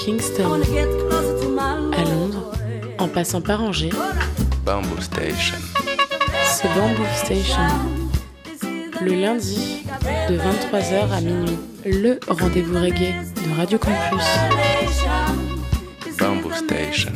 Kingston, à Londres, en passant par Angers, Bamboo Station. c'est Bamboo Station. Le lundi, de 23h à minuit, le rendez-vous reggae de Radio Campus. Bamboo Station.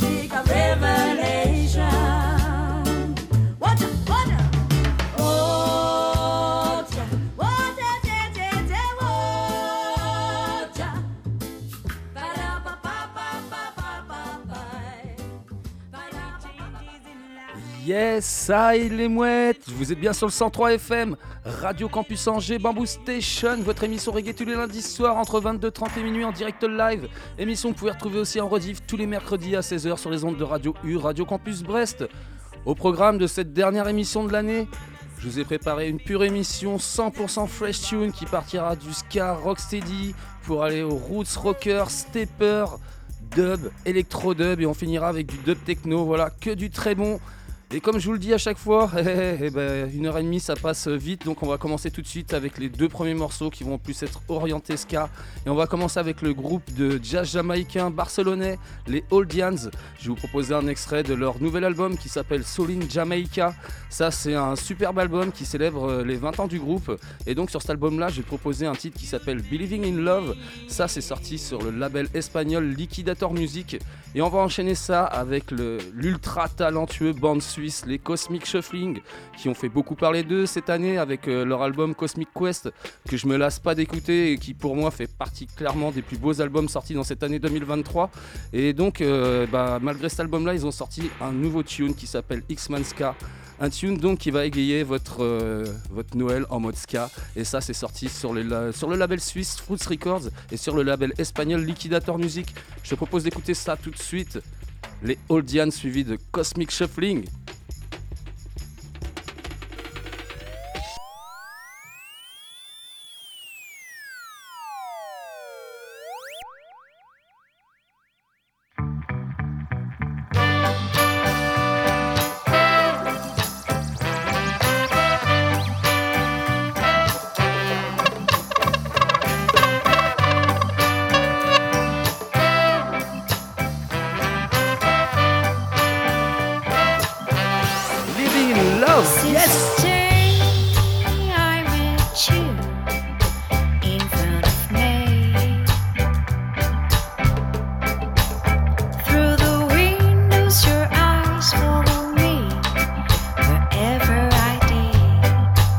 Yes, ça y est les mouettes, vous êtes bien sur le 103 FM, Radio Campus Angers, Bamboo Station, votre émission reggae tous les lundis soirs entre 22h30 et minuit en direct live. Émission que vous pouvez retrouver aussi en rediff tous les mercredis à 16h sur les ondes de Radio U, Radio Campus Brest. Au programme de cette dernière émission de l'année, je vous ai préparé une pure émission 100% fresh tune qui partira du ska rocksteady pour aller aux roots rocker, stepper, dub, électro-dub et on finira avec du dub techno, voilà, que du très bon. Et comme je vous le dis à chaque fois, 1h30 ça passe vite, donc on va commencer tout de suite avec les deux premiers morceaux qui vont plus être orientés ska. Et on va commencer avec le groupe de jazz jamaïcain barcelonais, les Oldians. Je vais vous proposer un extrait de leur nouvel album qui s'appelle Soul in Jamaica. Ça c'est un superbe album qui célèbre les 20 ans du groupe. Et donc sur cet album-là, j'ai proposé un titre qui s'appelle Believing in Love. Ça c'est sorti sur le label espagnol Liquidator Music. Et on va enchaîner ça avec l'ultra talentueux band suisse, les Cosmic Shuffling, qui ont fait beaucoup parler d'eux cette année avec leur album Cosmic Quest, que je me lasse pas d'écouter et qui pour moi fait partie clairement des plus beaux albums sortis dans cette année 2023. Et donc, malgré cet album-là, ils ont sorti un nouveau tune qui s'appelle X-Man Ska. Un tune donc qui va égayer votre Noël en mode ska. Et ça c'est sorti sur le label suisse Fruits Records et sur le label espagnol Liquidator Music. Je te propose d'écouter ça tout de suite. Les Oldians suivis de Cosmic Shuffling. Yes! I met you in front of me. Through the windows, your eyes follow me wherever I did.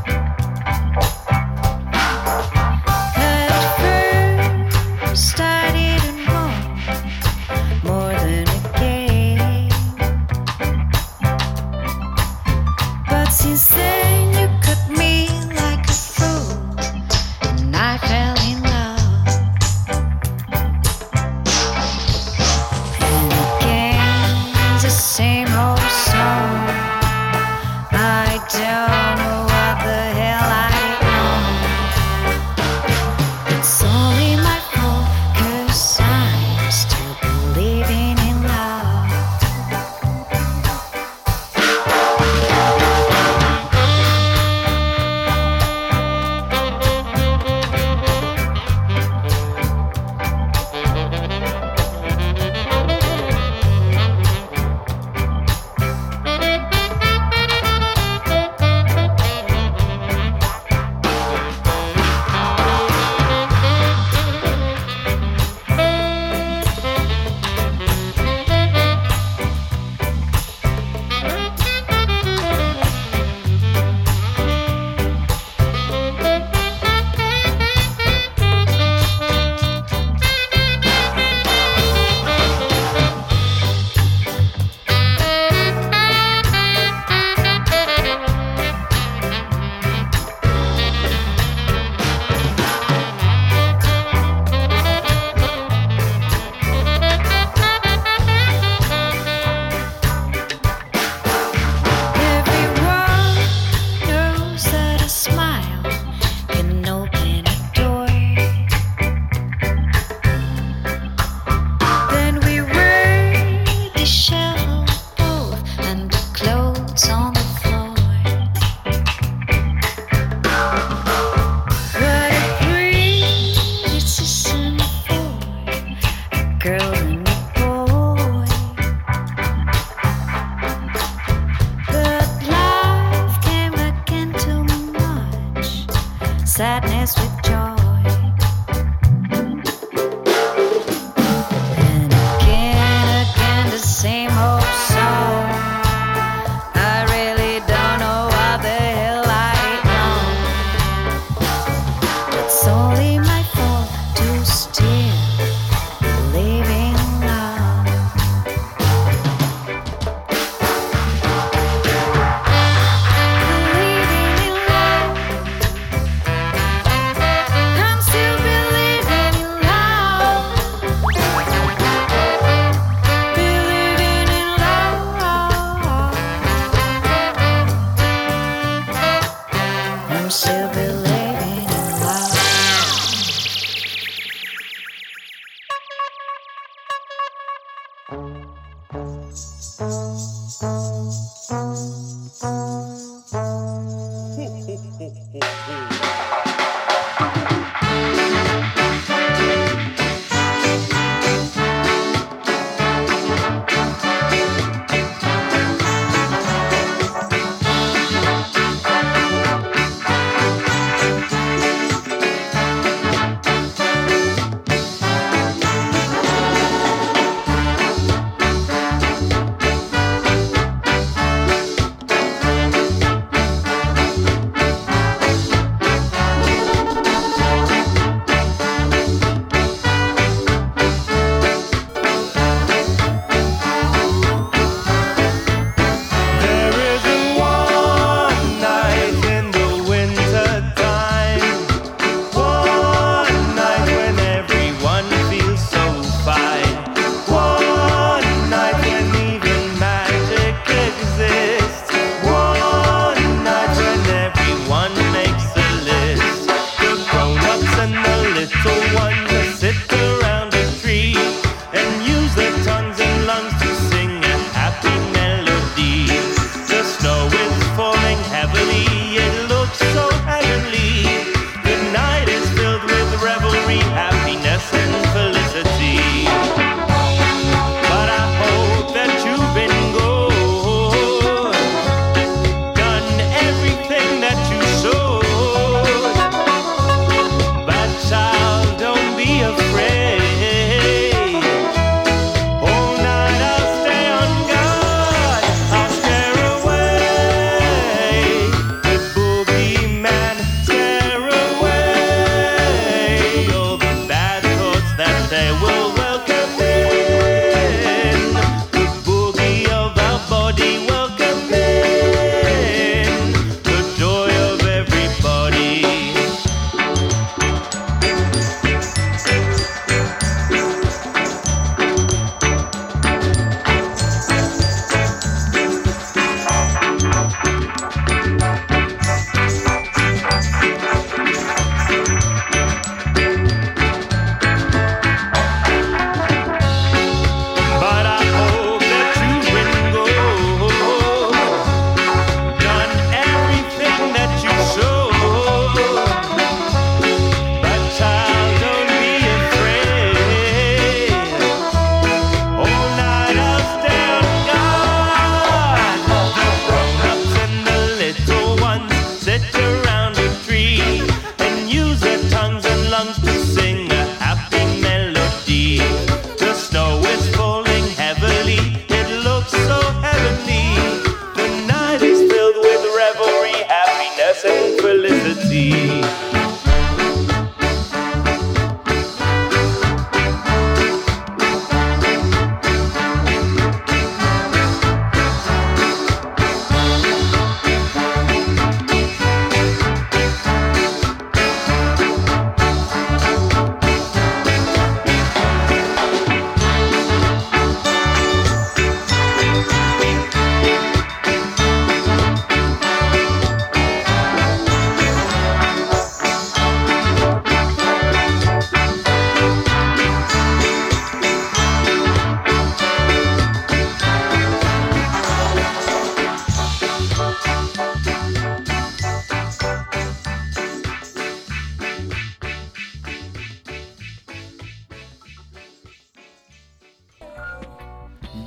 At first, I didn't want more than a game. But since then eyes with joy. And again, the same old song. I really don't know what the hell I know. It's only my fault to still believing love. Believing in love. I'm still believing in love. Believing in love. I'm still believing in love.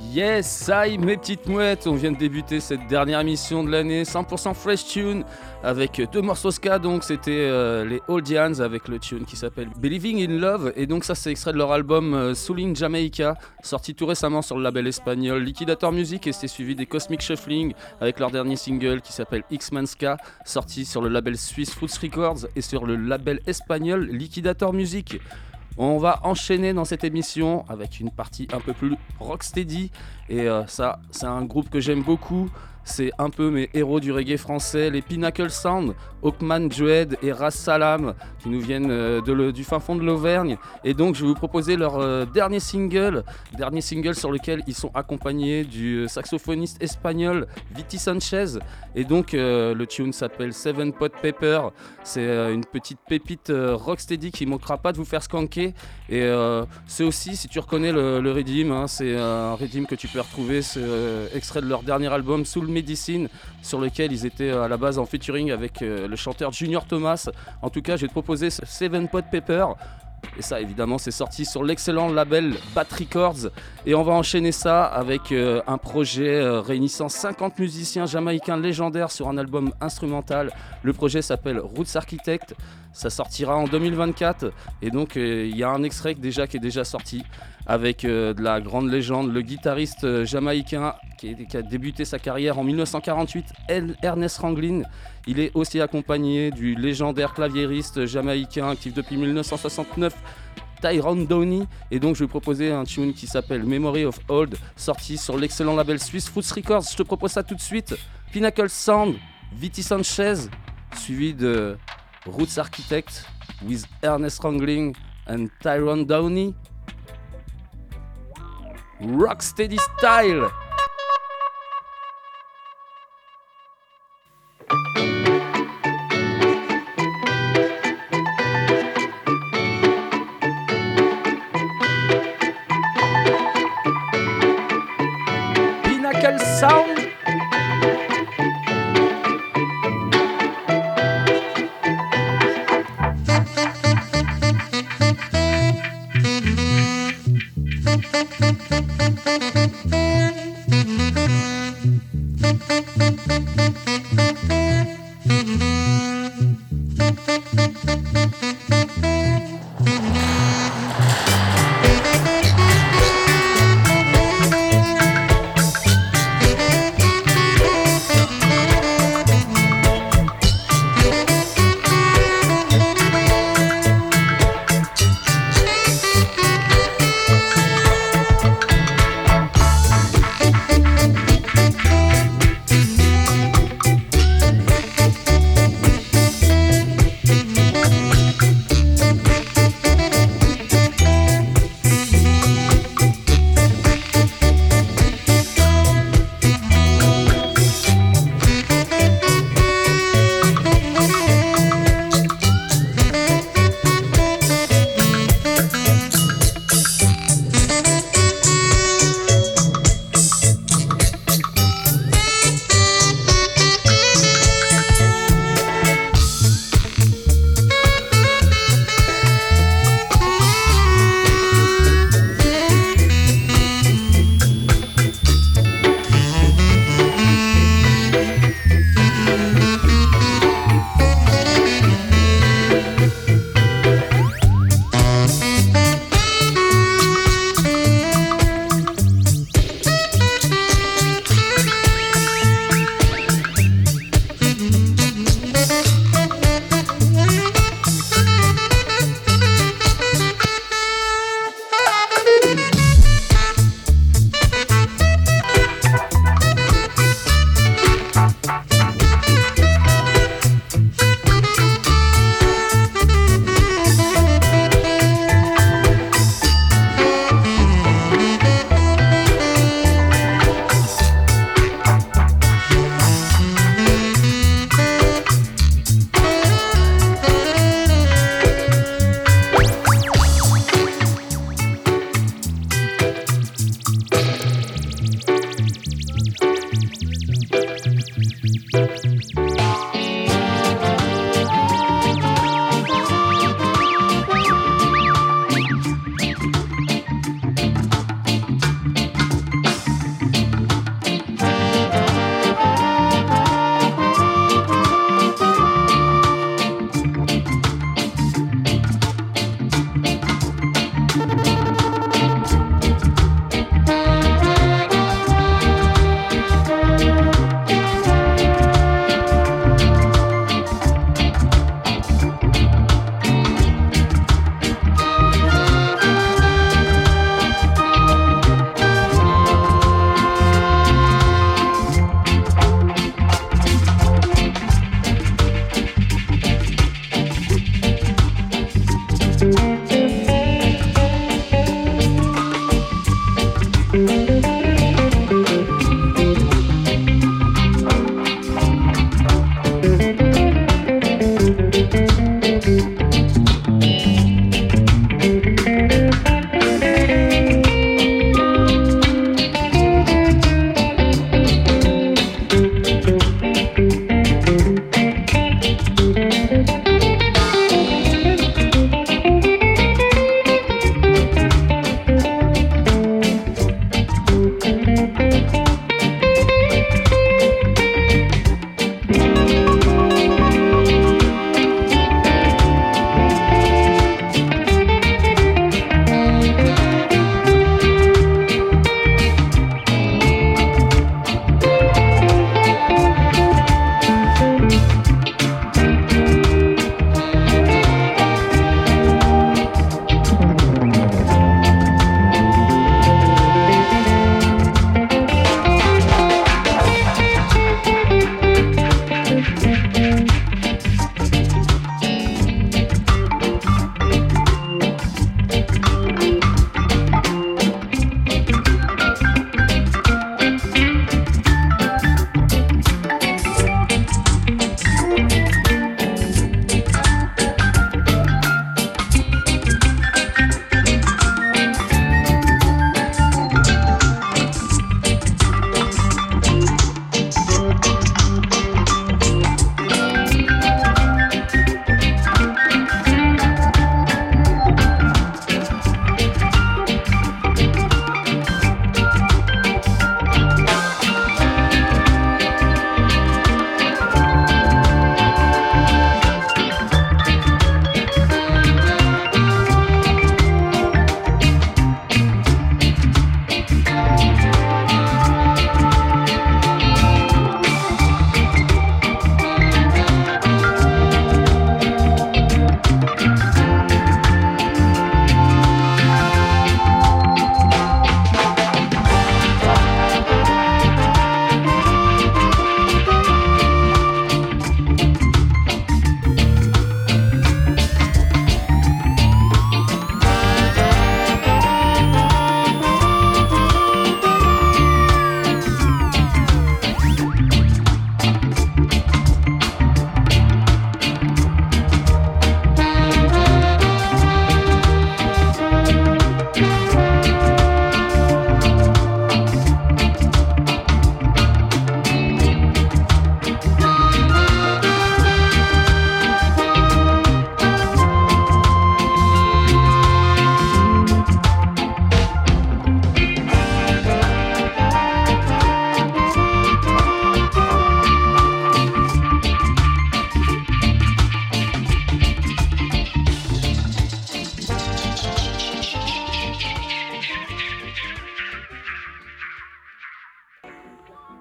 Yes, ça y mes petites mouettes, on vient de débuter cette dernière émission de l'année, 100% fresh tune, avec 2 morceaux ska, donc c'était les Oldians avec le tune qui s'appelle Believing in Love, et donc ça c'est extrait de leur album Soul in Jamaica, sorti tout récemment sur le label espagnol Liquidator Music, et c'était suivi des Cosmic Shuffling avec leur dernier single qui s'appelle X-Man Ska, sorti sur le label suisse Fruits Records et sur le label espagnol Liquidator Music. On va enchaîner dans cette émission avec une partie un peu plus rocksteady, et ça c'est un groupe que j'aime beaucoup, c'est un peu mes héros du reggae français, les Pinnacle Sound, Hawkman Joed et Ras Salam qui nous viennent du fin fond de l'Auvergne, et donc je vais vous proposer leur dernier single sur lequel ils sont accompagnés du saxophoniste espagnol Viti Sanchez, et donc le tune s'appelle Seven Pot Pepper, c'est une petite pépite rocksteady qui ne manquera pas de vous faire skanker, et c'est aussi, si tu reconnais le rhythm, hein, c'est un rhythm que tu peux retrouver, c'est extrait de leur dernier album Soul Medicine, sur lequel ils étaient à la base en featuring avec le chanteur Junior Thomas. En tout cas, je vais te proposer Seven Pot Pepper, et ça évidemment c'est sorti sur l'excellent label Bat Records, et on va enchaîner ça avec un projet réunissant 50 musiciens jamaïcains légendaires sur un album instrumental. Le projet s'appelle Roots Architect, ça sortira en 2024, et donc il y a un extrait qui est déjà sorti avec de la grande légende, le guitariste jamaïcain qui a débuté sa carrière en 1948, Ernest Ranglin. Il est aussi accompagné du légendaire claviériste jamaïcain actif depuis 1969, Tyrone Downey, et donc je vais proposer un tune qui s'appelle Memory of Old, sorti sur l'excellent label suisse Fruits Records. Je te propose ça tout de suite. Pinnacle Sound, Viti Sanchez, suivi de Roots Architect with Ernest Ranglin and Tyrone Downey. Rocksteady style. Pinnacle Sound.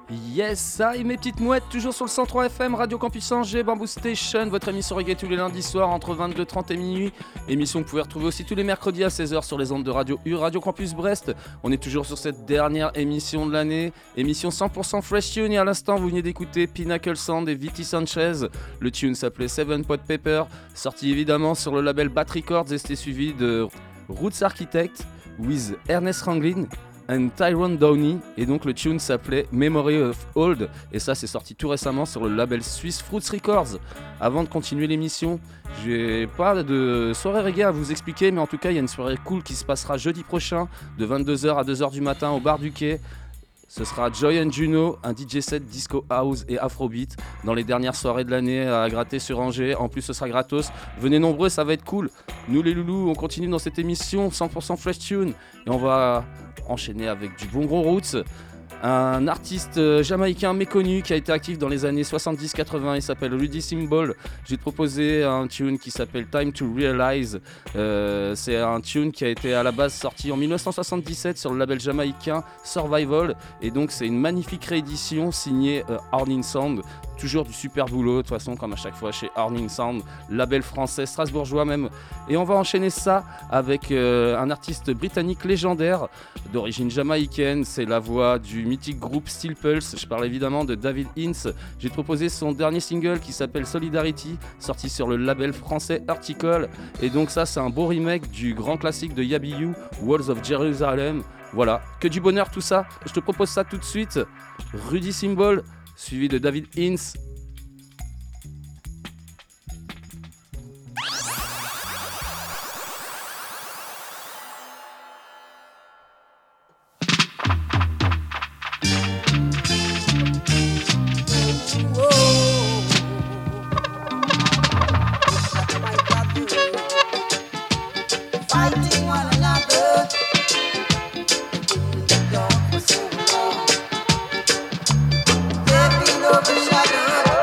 Yes, ça et mes petites mouettes, toujours sur le 103 FM, Radio Campus Angers, Bamboo Station, votre émission reggae tous les lundis soirs entre 22h30 et minuit. Émission que vous pouvez retrouver aussi tous les mercredis à 16h sur les ondes de Radio U, Radio Campus Brest. On est toujours sur cette dernière émission de l'année, émission 100% Fresh Tune. Et à l'instant, vous venez d'écouter Pinnacle Sound et Viti Sanchez. Le tune s'appelait Seven Pot Pepper, sorti évidemment sur le label Bat Records et c'était suivi de Roots Architect with Ernest Ranglin and Tyrone Downey, et donc le tune s'appelait Memory of Old, et ça c'est sorti tout récemment sur le label suisse Fruits Records. Avant de continuer l'émission, j'ai pas de soirée reggae à vous expliquer, mais en tout cas il y a une soirée cool qui se passera jeudi prochain de 22h à 2h du matin au bar du quai. Ce sera Joy and Juno, un DJ set disco house et afrobeat dans les dernières soirées de l'année à gratter sur Angers. En plus, ce sera gratos. Venez nombreux, ça va être cool. Nous les loulous, on continue dans cette émission 100% Fresh Tune et on va enchaîner avec du bon gros roots. Un artiste jamaïcain méconnu qui a été actif dans les années 70-80, il s'appelle Rudy Symbol. Je vais te proposer un tune qui s'appelle Time to Realize. C'est un tune qui a été à la base sorti en 1977 sur le label jamaïcain Survival. Et donc c'est une magnifique réédition signée Horning Sound. Toujours du super boulot, de toute façon, comme à chaque fois chez Horning Sound, label français, strasbourgeois même. Et on va enchaîner ça avec un artiste britannique légendaire d'origine jamaïcaine. C'est la voix du mythique groupe Steel Pulse. Je parle évidemment de David Ince. J'ai proposé son dernier single qui s'appelle Solidarity, sorti sur le label français Article. Et donc ça, c'est un beau remake du grand classique de Yabiyu, Walls of Jerusalem. Voilà, que du bonheur tout ça. Je te propose ça tout de suite. Rudy Symbol, suivi de David Ince. Fighting one another in the dark for so long. There be no shadow.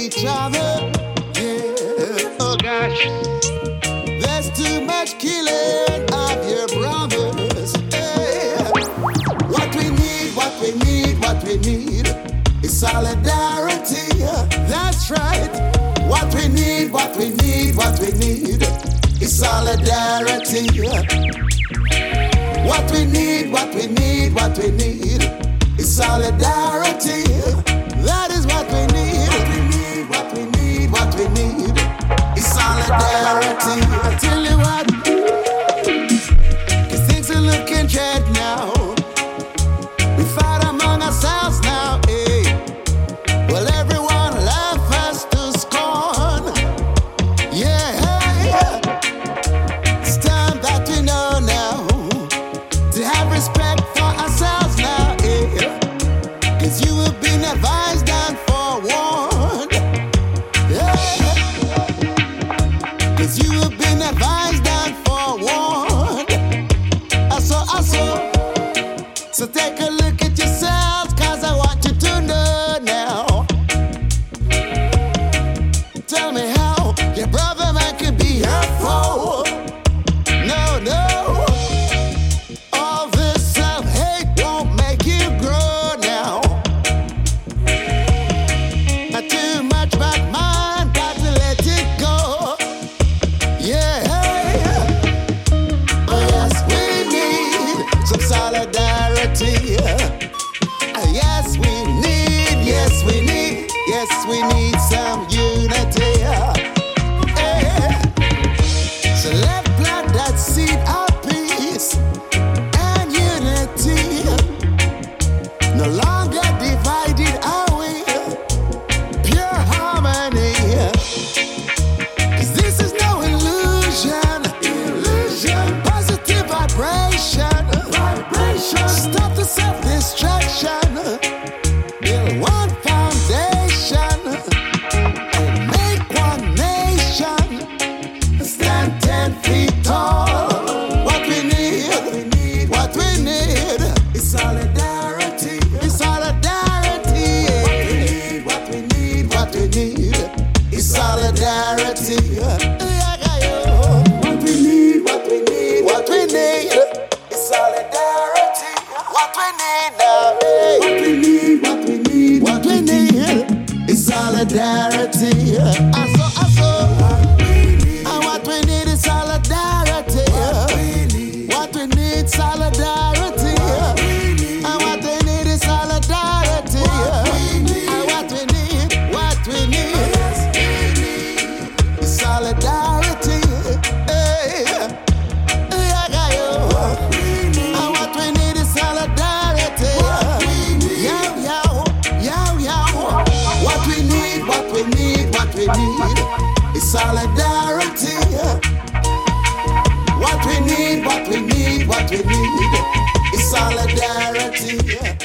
each other. Yeah, oh gosh. There's too much killing of your brothers. Hey. What we need, what we need, what we need is solidarity. That's right. What we need, what we need, what we need is solidarity. What we need, what we need, what we need is solidarity. That is what we need. What we need, what we need, what we need is solidarity. I tell you what, 'cause things are looking dread now. We fight among ourselves now, eh? Well, everyone laugh us to scorn. Yeah, it's time that we know now to have respect for ourselves now, eh? 'Cause you have been advised and forewarned. Yeah, 'cause you have been advised and forewarned. So take a look at yourselves, 'cause I want you to know now. Tell me how your brother man can be your foe. No, no. All this self-hate won't make you grow now. Not too much bad mind, got to let it go. Yeah. Oh yes, we need some solidarity. Yes, we need some unity. So let's plant that seed of peace and unity. No longer divided are we, pure harmony. 'Cause this is no illusion. Positive vibration. Stop the self-destruction. Build one foundation and make one nation. Stand 10 feet tall. What we need, what we need is solidarity. Is solidarity. What we need, what we need is solidarity. What we need, what we need, what we need is solidarity. What we need now, hey. What we need, what we need, what we need is solidarity. And what we need is solidarity. What we need, solidarity. And what we need is solidarity. And what we need is solidarity. Hey. And what we need is solidarity. What we need, what we need, what we need is solidarity. What we need, what we need, what we need is solidarity.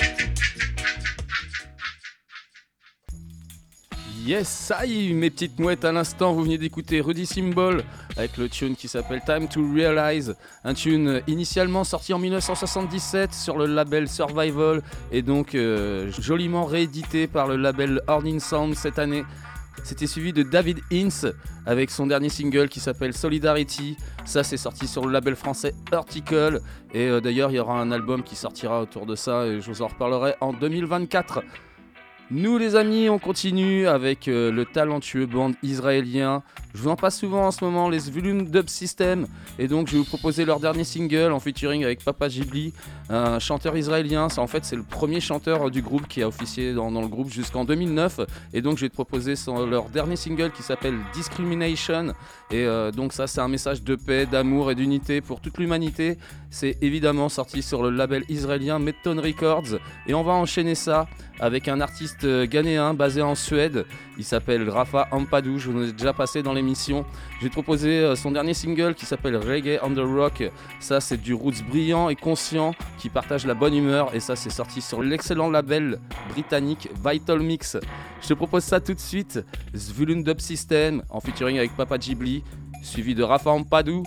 Yes, ça y est, mes petites mouettes, à l'instant, vous venez d'écouter Rudy Symbol avec le tune qui s'appelle Time to Realize, un tune initialement sorti en 1977 sur le label Survival et donc joliment réédité par le label Horning Sound cette année. C'était suivi de David Hinz avec son dernier single qui s'appelle Solidarity. Ça, c'est sorti sur le label français Vertical. Et d'ailleurs, il y aura un album qui sortira autour de ça et je vous en reparlerai en 2024. Nous les amis, on continue avec le talentueux band israélien. Je vous en passe souvent en ce moment, les Zvulun Dub System. Et donc je vais vous proposer leur dernier single en featuring avec Papa Ghibli, un chanteur israélien. C'est le premier chanteur du groupe qui a officié dans le groupe jusqu'en 2009. Et donc je vais te proposer leur dernier single qui s'appelle Discrimination. Et donc ça, c'est un message de paix, d'amour et d'unité pour toute l'humanité. C'est évidemment sorti sur le label israélien Meton Records. Et on va enchaîner ça avec un artiste ghanéen basé en Suède. Il s'appelle Rafa Ampadu, je vous en ai déjà passé dans l'émission. Je vais te proposer son dernier single qui s'appelle Reggae on the Rock. Ça, c'est du roots brillant et conscient qui partage la bonne humeur. Et ça, c'est sorti sur l'excellent label britannique Vital Mix. Je te propose ça tout de suite. Zvulun Dub System en featuring avec Papa Ghibli, suivi de Rafa Ampadu.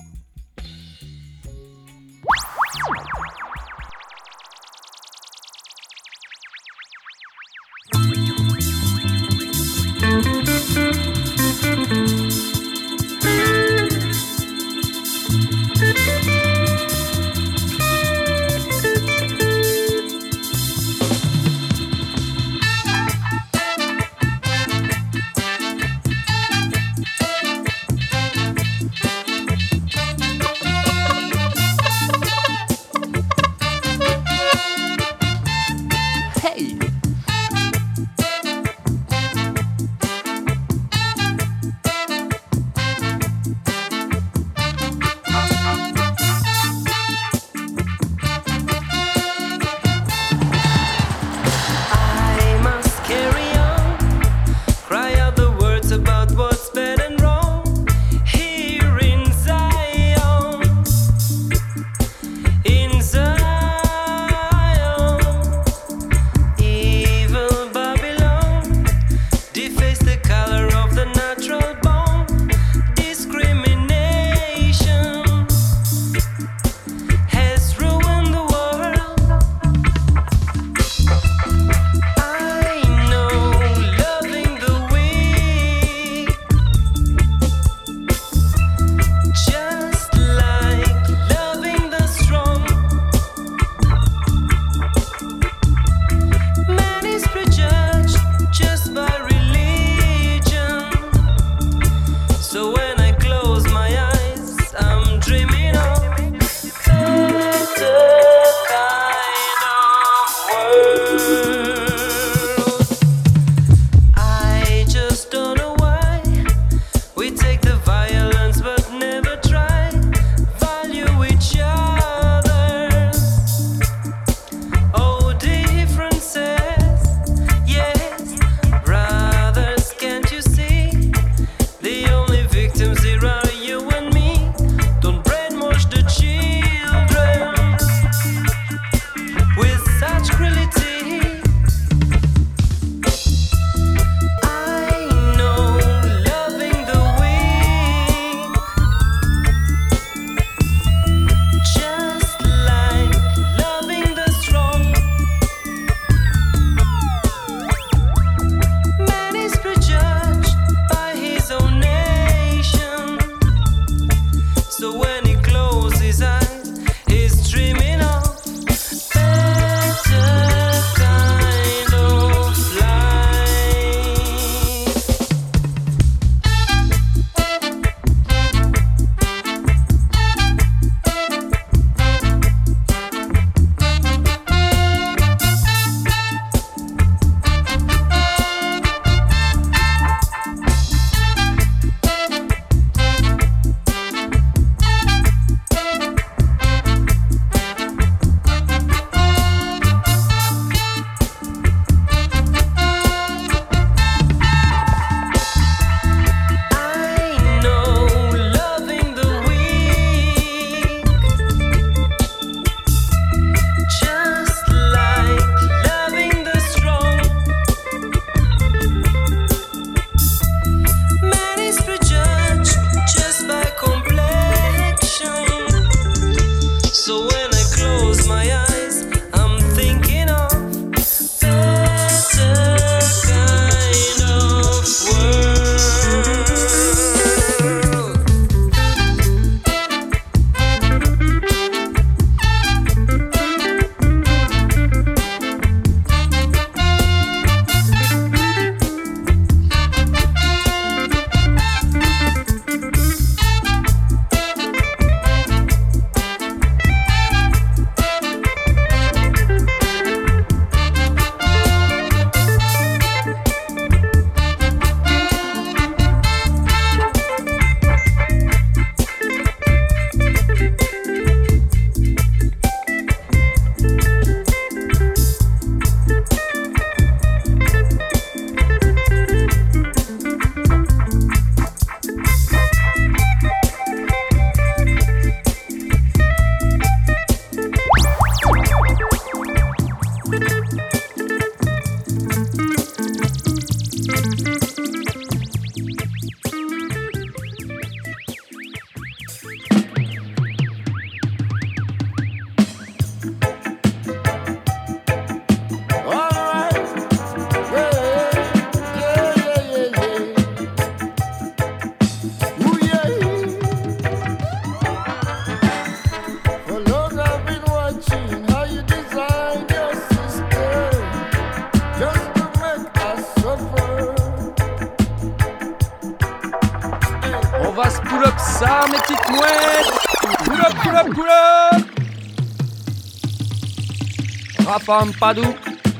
Rafam Padou,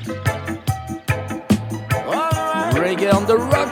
Reggae on the Rock.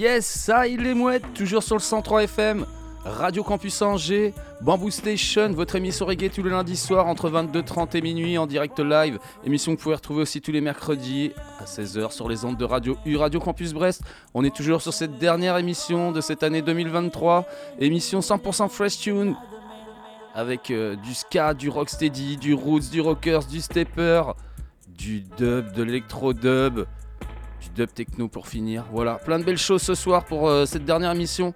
Yes, ça il est mouettes, toujours sur le 103 FM, Radio Campus Angers, Bamboo Station, votre émission reggae tous les lundis soirs entre 22h30 et minuit en direct live. Émission que vous pouvez retrouver aussi tous les mercredis à 16h sur les ondes de Radio U, Radio Campus Brest. On est toujours sur cette dernière émission de cette année 2023, émission 100% fresh tune, avec du ska, du rocksteady, du roots, du rockers, du stepper, du dub, de l'électro-dub, du dub techno pour finir. Voilà, plein de belles choses ce soir pour cette dernière émission.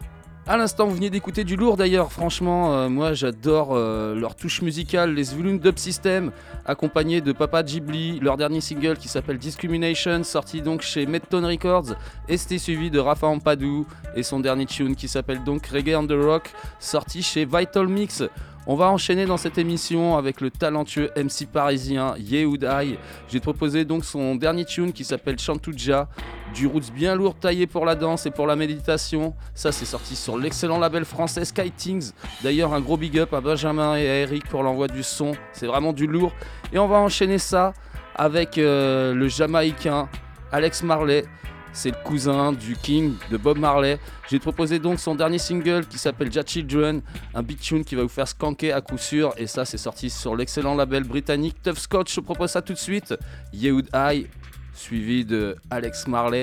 À l'instant, vous venez d'écouter du lourd d'ailleurs. Franchement, moi j'adore leur touche musicale, les Zvulun Dub System, accompagnés de Papa Ghibli, leur dernier single qui s'appelle Discrimination, sorti donc chez Medtone Records, et c'était suivi de Rafa Ampadou et son dernier tune qui s'appelle donc Reggae on the Rock, sorti chez Vital Mix. On va enchaîner dans cette émission avec le talentueux MC parisien Yehoud Aïe. J'ai proposé donc son dernier tune qui s'appelle Chantouja, du roots bien lourd taillé pour la danse et pour la méditation. Ça c'est sorti sur l'excellent label français Skytings. D'ailleurs un gros big up à Benjamin et à Eric pour l'envoi du son, c'est vraiment du lourd. Et on va enchaîner ça avec le Jamaïcain Alex Marley. C'est le cousin du King de Bob Marley. J'ai proposé donc son dernier single qui s'appelle Ja Children, un big tune qui va vous faire skanker à coup sûr. Et ça, c'est sorti sur l'excellent label britannique Tough Scotch. Je propose ça tout de suite. Yehoud Aïe, suivi de Alex Marley.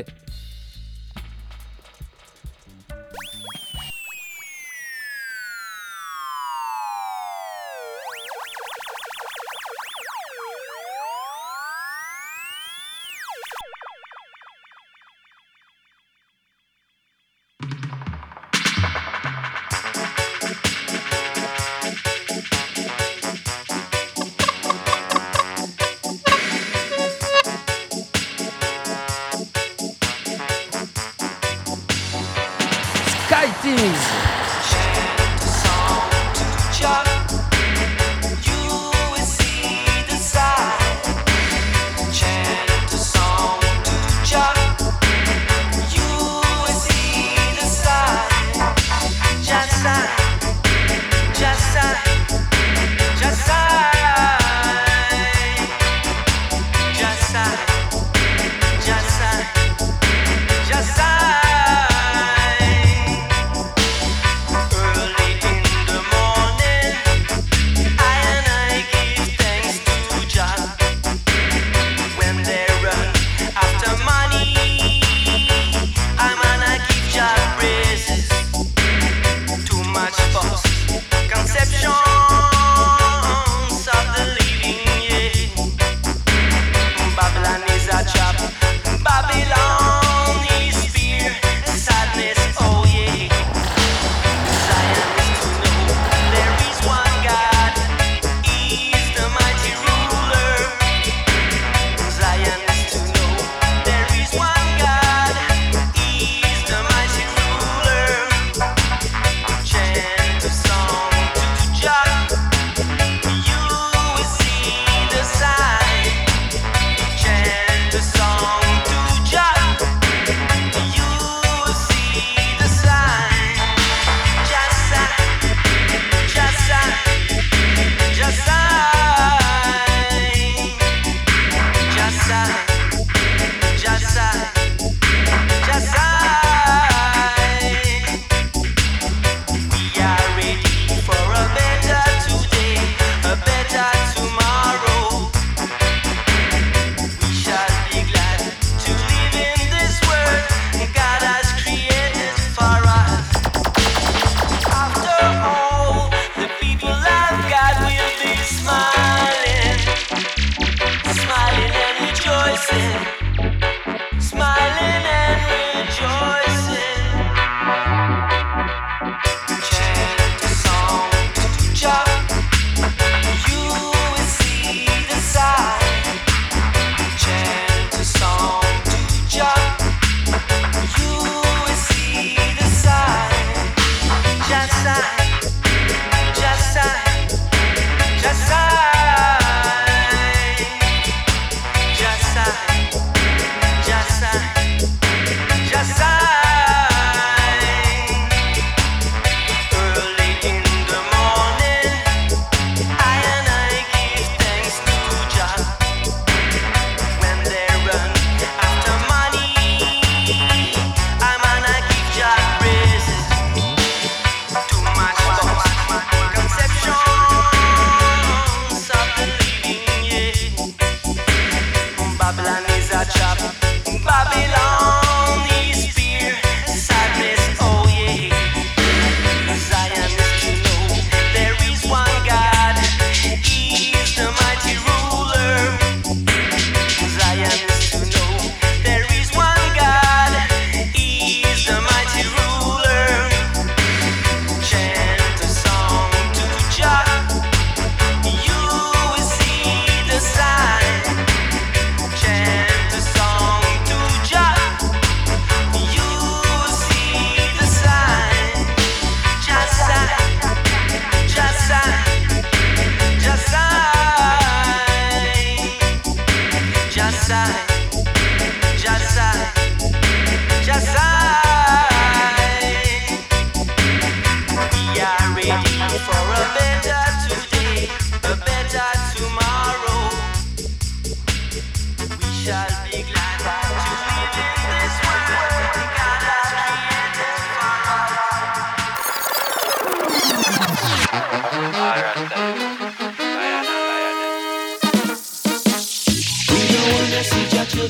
Ja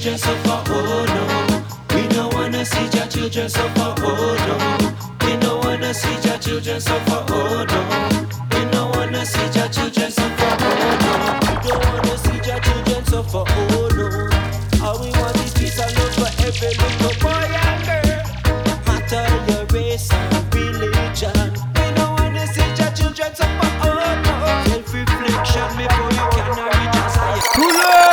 children suffer, oh no. We don't wanna see your children suffer, oh no. We don't wanna see your children suffer, oh no. We don't wanna see your children suffer, oh no. We don't wanna see your children suffer, oh no. All we want is peace and love for every little boy and girl. Matter your race and religion. We don't wanna see your children suffer, oh no. Self-reflection before you can reach us higher.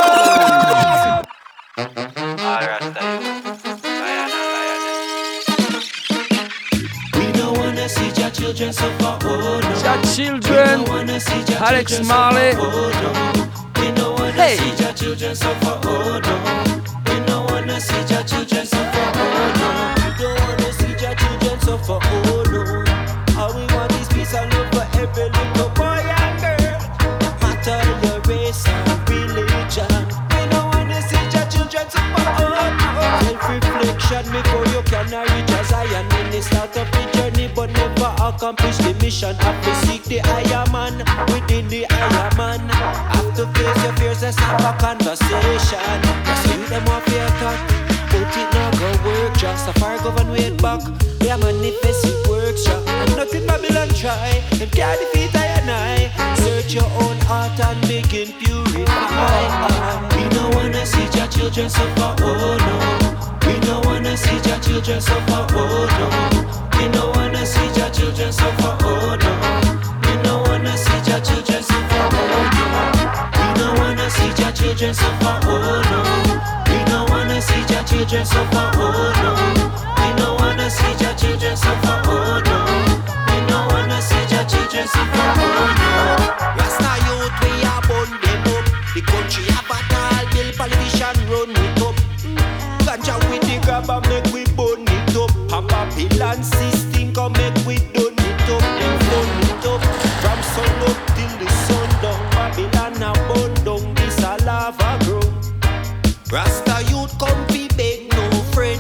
We don't wanna see your children suffer, oh no. Your children, Alex Marley. We don't wanna see your children suffer, oh no. We don't wanna see your children suffer, oh no. We don't wanna see your children suffer, oh no. All we want is peace and love for every little boy and girl. Matter your race and religion. We don't wanna see your children suffer, oh no. Self-reflection before you can reach as I am. Many start up the journey but never accomplish the mission. Have to seek the higher man within the higher man. Have to face your fears, let's have a conversation. Cause you them want fear talk, but it not go work. Just a fire govern wait back. We are manifest it works, yeah. And nothing Babylon try. Them can't defeat I and I. Search your own heart and begin purify. We don't wanna see your children suffer, oh no. We don't wanna see your children suffer, oh no. We don't wanna see your children suffer, oh no. We don't wanna see your children suffer, oh no. We don't wanna see your children suffer, oh no. We don't wanna see your children suffer, oh no. We don't wanna see your children suffer, oh no. We don't wanna see your children suffer, oh no. Rasta youth we are born them up. The country have a tall bill, politician run it up. Ganja with the grabber make we burn it up. And Babylon system come make we done it up. Them done it up. From sun up till the sun down. Babylon a burn down. This a lava grow. Rasta youth come be beg no friend.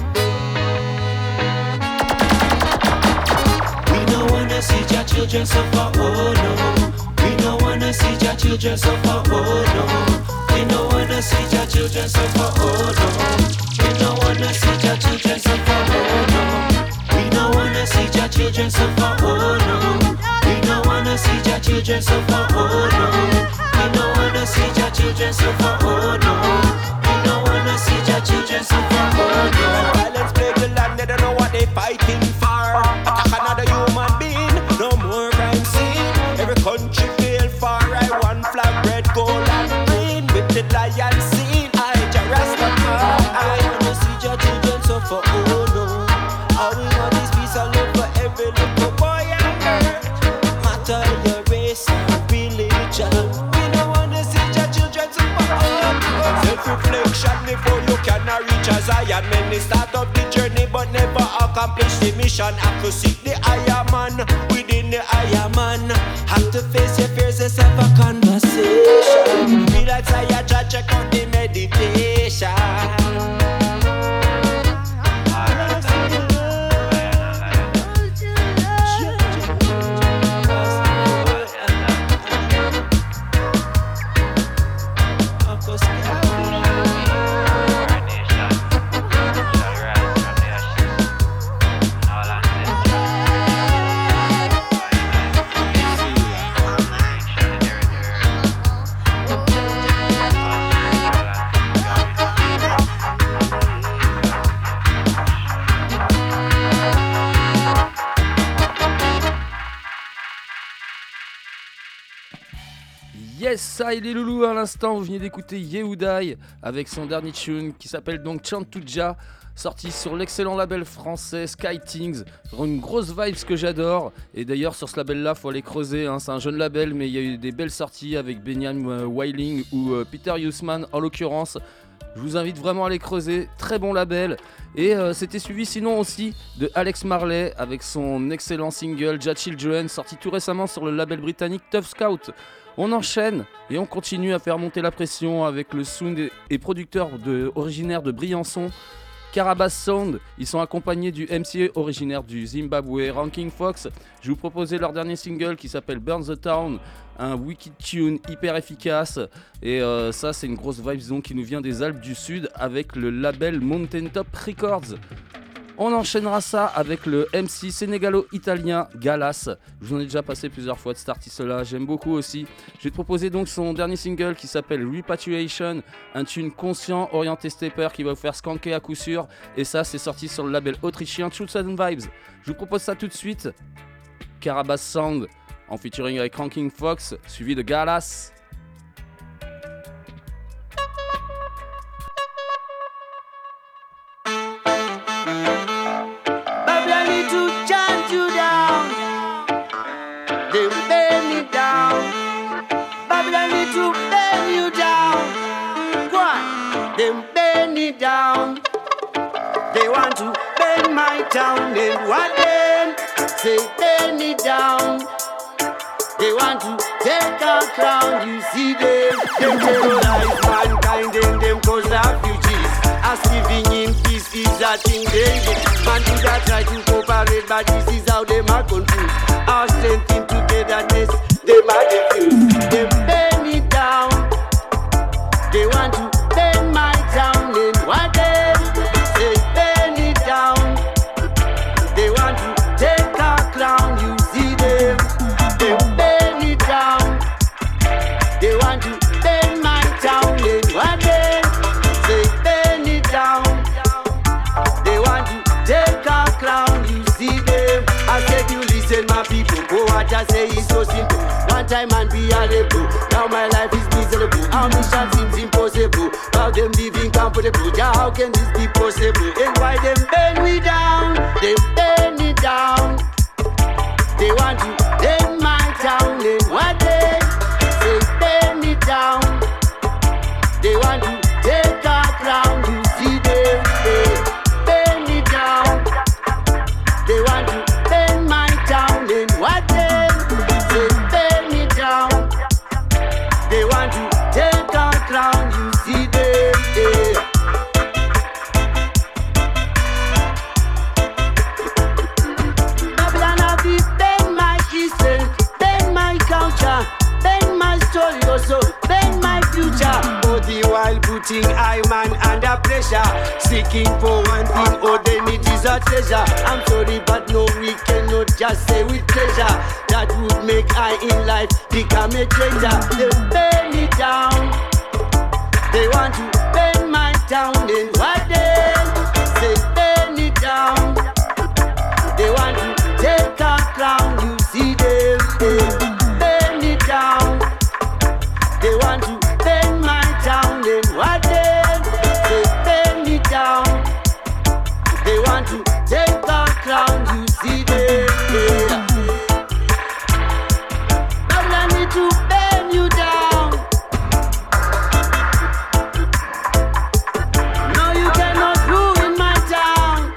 We don't wanna see your children suffer, oh no. We don't wanna see your children suffer, oh no. We don't wanna see your children suffer, oh no. We don't wanna see your children suffer, oh no. We don't wanna see your children suffer, oh no. We don't wanna see your children suffer, oh no. We don't wanna see your children suffer, oh no. We don't wanna see your children suffer, oh no. Violence plague the land, they don't know what they fighting for. Attack another human being, no more crime scene. Every country fail for I one flag, red, gold and green. With the lion scene, I just Rastafari. I wanna see your children suffer, oh no. All we want is peace and love for every little boy and girl. Matter your race and religion. We don't wanna see your children suffer, oh no. Self-reflection before you can reach as I am. Many start up the journey but never accomplish the mission. Have to seek the higher man within the higher man. Have to face your fears, let's have a conversation. Feel like I judge, check out the meditation. Yes, ça et les loulous à l'instant, vous venez d'écouter Yehudai avec son dernier tune qui s'appelle donc Chantuja, sorti sur l'excellent label français Sky Things. Une grosse vibe que j'adore, et d'ailleurs sur ce label là faut aller creuser, hein. C'est un jeune label mais il y a eu des belles sorties avec Benjamin Weiling ou Peter Hussman en l'occurrence. Je vous invite vraiment à aller creuser, très bon label. Et c'était suivi sinon aussi de Alex Marley avec son excellent single Ja Children, sorti tout récemment sur le label britannique Tough Scout. On enchaîne et on continue à faire monter la pression avec le sound et producteur originaire de Briançon, Carabas Sound, ils sont accompagnés du MC originaire du Zimbabwe, Ranking Fox. Je vous proposais leur dernier single qui s'appelle Burn the Town, un wicked tune hyper efficace. Et ça, c'est une grosse vibe donc, qui nous vient des Alpes du Sud avec le label Mountain Top Records. On enchaînera ça avec le MC sénégalo-italien Galas. Je vous en ai déjà passé plusieurs fois de cet artiste-là, j'aime beaucoup aussi. Je vais te proposer donc son dernier single qui s'appelle Repatriation, un tune conscient, orienté stepper qui va vous faire skanker à coup sûr. Et ça, c'est sorti sur le label autrichien Truth and Vibes. Je vous propose ça tout de suite. Carabas Sound en featuring avec Ranking Fox, suivi de Galas. Down. They want to burn my town and what then? Say burn it down. They want to take our crown, you see them. They terrorize mankind and them cause refugees. As living in peace is a thing they do. Man do that try to cooperate, but this is how they are confused. Our strength in togetherness, they are diffused. They burn it down. They want to burn my town and what they say burn it down. They want to take our crown, you see them. They burn it down. They want to burn my town and what they say burn it down. They want to take our crown, you see them. I said you listen my people, go what I say is so simple. One time and be a rebel. Now my life is miserable. Our mission seems impossible. How them living comfortable? Yeah, how can this be possible? And why them burn we down? They burn it down. They want to burn my town. And what they say burn it down. They want to take our crown. You see them, they burn it down. They want to burn my town. And what they say burn it down. They want to take our crown, you see them, yeah. Babylon have it, bend my history, bend my culture, bend my story also, bend my future. All the while putting I man under pressure, seeking for one thing, all they need is a treasure. I'm sorry but no, we cannot just say with pleasure. That would make I in life become a traitor. They burn it down. They want to burn my town and what they say burn it down. They want to take our crown, you see them, they burn it down. They want to burn my town and what they say burn it down. They want to take our crown, you see them, yeah. I need to burn you down. No, you cannot ruin my town.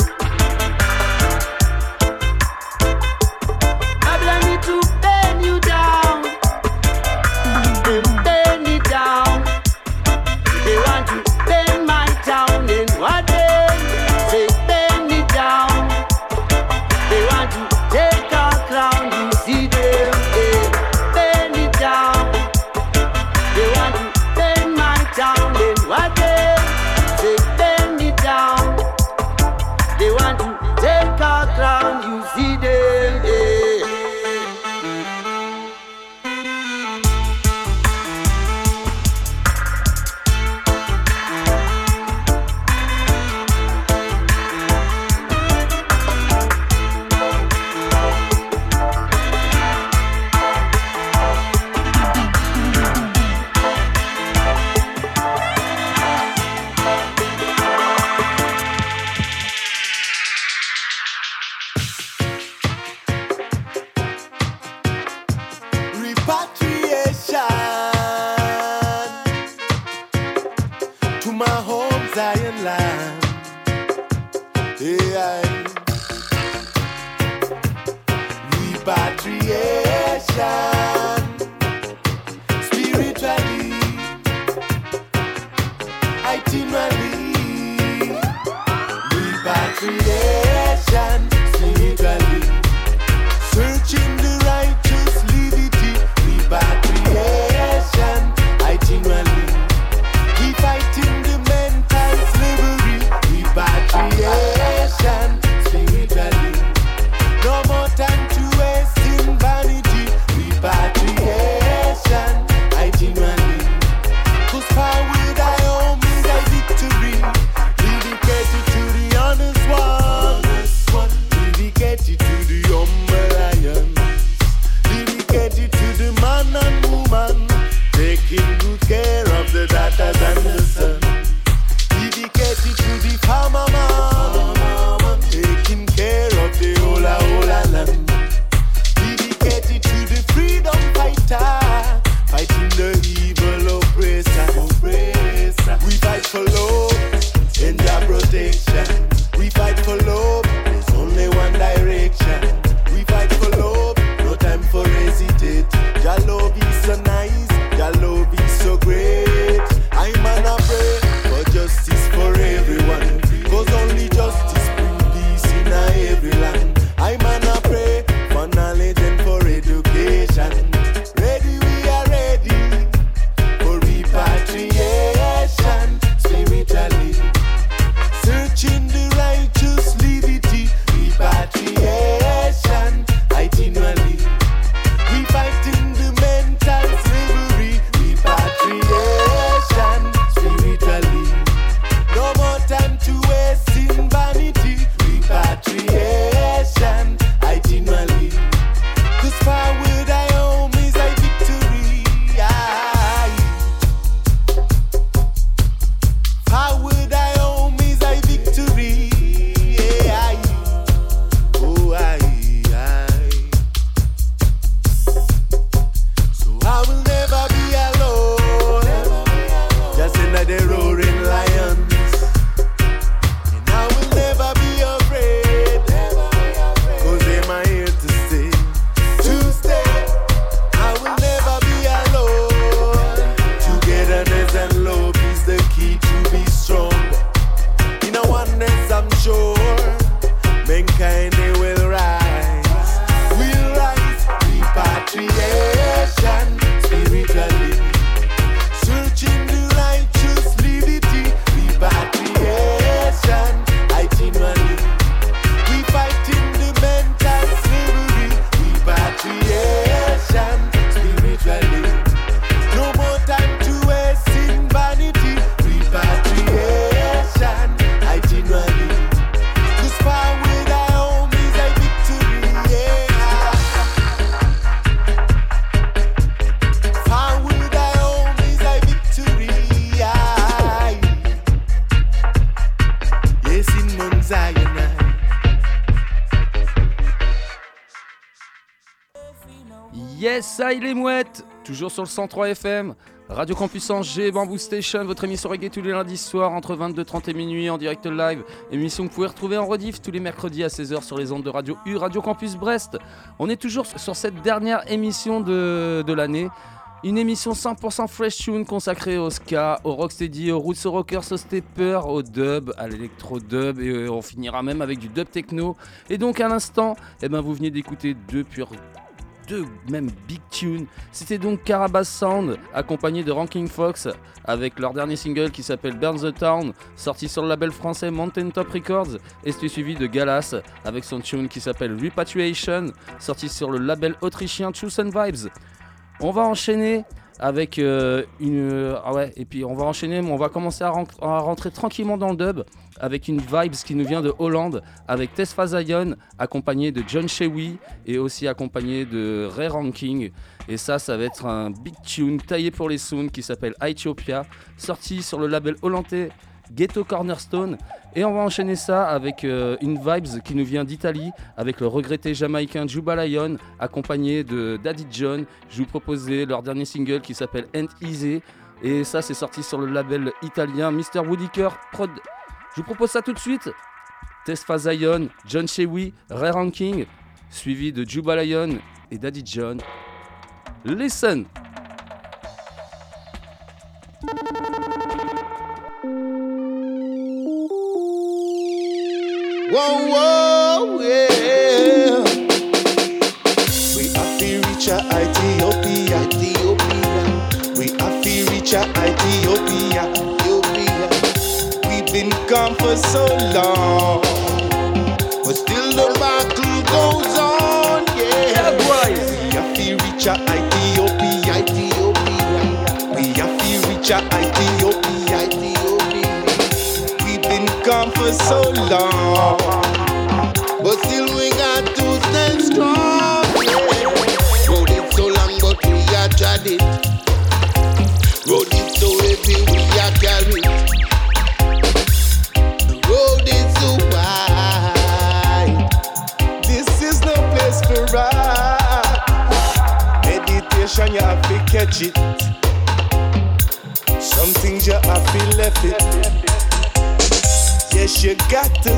I need to burn you down. They burn it down. They want to burn my town and what they say burn it down. They want to take our crown, you see them, yeah. Burn it down. They want to burn my town and what they say burn it down. They want to take our crown, you see them, yeah. Repatriation to my home Zion land. Yeah. Repatriation spiritually, itinerally. hesitate. Your love is so nice, your love is so great. I'm gonna pray for justice for everyone, cause only justice brings peace in every land. I'm gonna pray for knowledge and for education. Ready, we are ready for repatriation spiritually. Searching the righteous liberty, repatriation itinerally. We fighting the mental slavery, repatriation spiritually. No more time to waste in vanity, repatriation itinerally. Cause forward I home is a victory. Forward I home is a victory. Oh, so I will never be alone, just in the roaring lions. And I will never be afraid, cause they're my here to stay. I will never be alone. Togetherness and love is the key to be strong. In a oneness I'm sure mankind they will rise. We'll rise, repatriation spiritually. Searching the righteous liberty, repatriation itinerally. We fighting the mental slavery, repatriation spiritually. No more time to waste in vanity, repatriation itinerally. Cause forward I home is a victory, yeah. Forward I home is a victory, yeah. Yes, in Mount Zion. Yes, ça il est mouette. Toujours sur le 103 FM. Radio Campus Angers, Bamboo Station, votre émission reggae tous les lundis soirs entre 22h30 et minuit en direct live. Émission que vous pouvez retrouver en rediff tous les mercredis à 16h sur les ondes de Radio U, Radio Campus Brest. On est toujours sur cette dernière émission de l'année. Une émission 100% fresh tune consacrée au ska, au rocksteady, aux roots, aux rockers, au stepper, au dub, à l'électro-dub et on finira même avec du dub techno. Et donc à l'instant, vous venez d'écouter deux même big tunes. C'était donc Carabass Sound accompagné de Ranking Fox avec leur dernier single qui s'appelle Burn the Town, sorti sur le label français Mountain Top Records, et c'était suivi de Galas avec son tune qui s'appelle Repatriation, sorti sur le label autrichien Truth and Vibes. On va enchaîner avec et puis on va commencer à rentrer tranquillement dans le dub avec une vibes qui nous vient de Hollande avec Tesfa Zion accompagné de John Shewy et aussi accompagné de Ray Ranking, et ça va être un big tune taillé pour les sounds qui s'appelle Ethiopia, sorti sur le label hollandais Ghetto Cornerstone. Et on va enchaîner ça avec une vibes qui nous vient d'Italie avec le regretté jamaïcain Juba Lion accompagné de Daddy John. Je vous proposais leur dernier single qui s'appelle Ain't Easy, et ça c'est sorti sur le label italien Mr. Woodiker Prod. Je vous propose ça tout de suite. Tesfa Zion, John Shewy, Ray Ranking, suivi de Juba Lion et Daddy John. Listen. Whoa, whoa, yeah. We have to reach Ethiopia. We have to reach Ethiopia. We've been gone for so long, but still the battle goes on, yeah. We have to reach Ethiopia. We have to reach Ethiopia. We've been gone for so long, but still we got to stand strong, yeah. Road is so long, but we are tried it. Road is so heavy, we are carried. The road is so wide, this is no place for ride. Meditation, you have to catch it. Some things you have to left it. Yes, you got to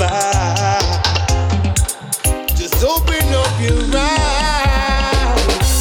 survive. Just open up your eyes.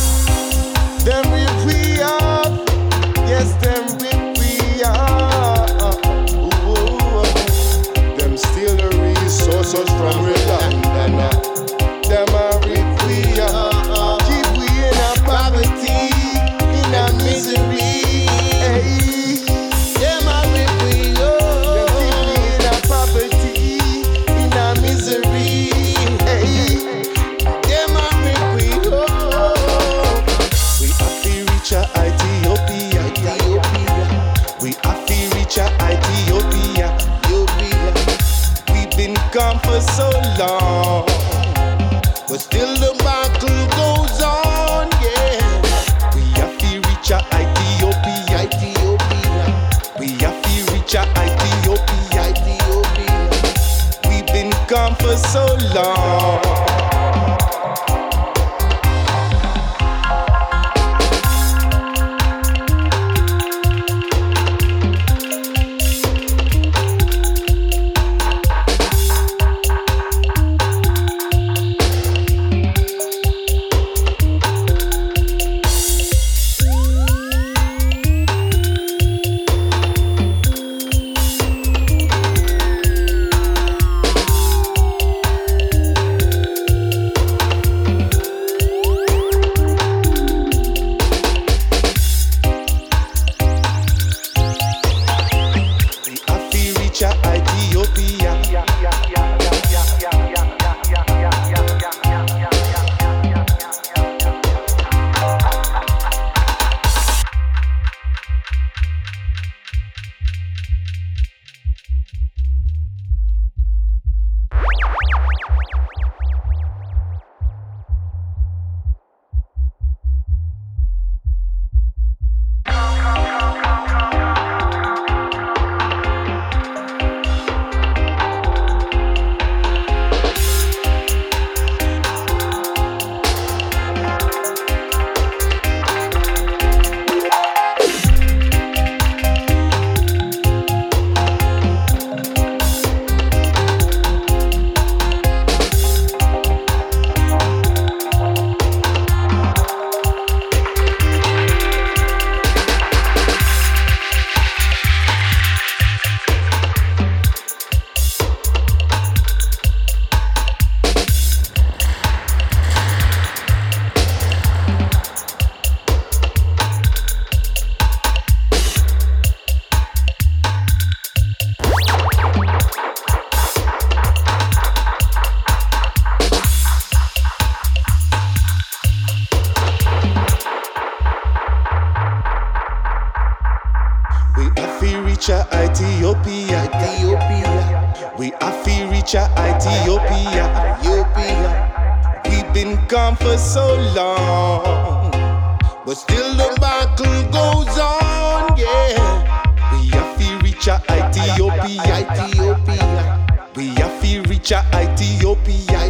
reach a Ethiopia, Ethiopia. We have to reach a Ethiopia, Ethiopia. We've been gone for so long, but still the battle goes on, yeah. We have to reach a Ethiopia, Ethiopia. We have to reach a Ethiopia,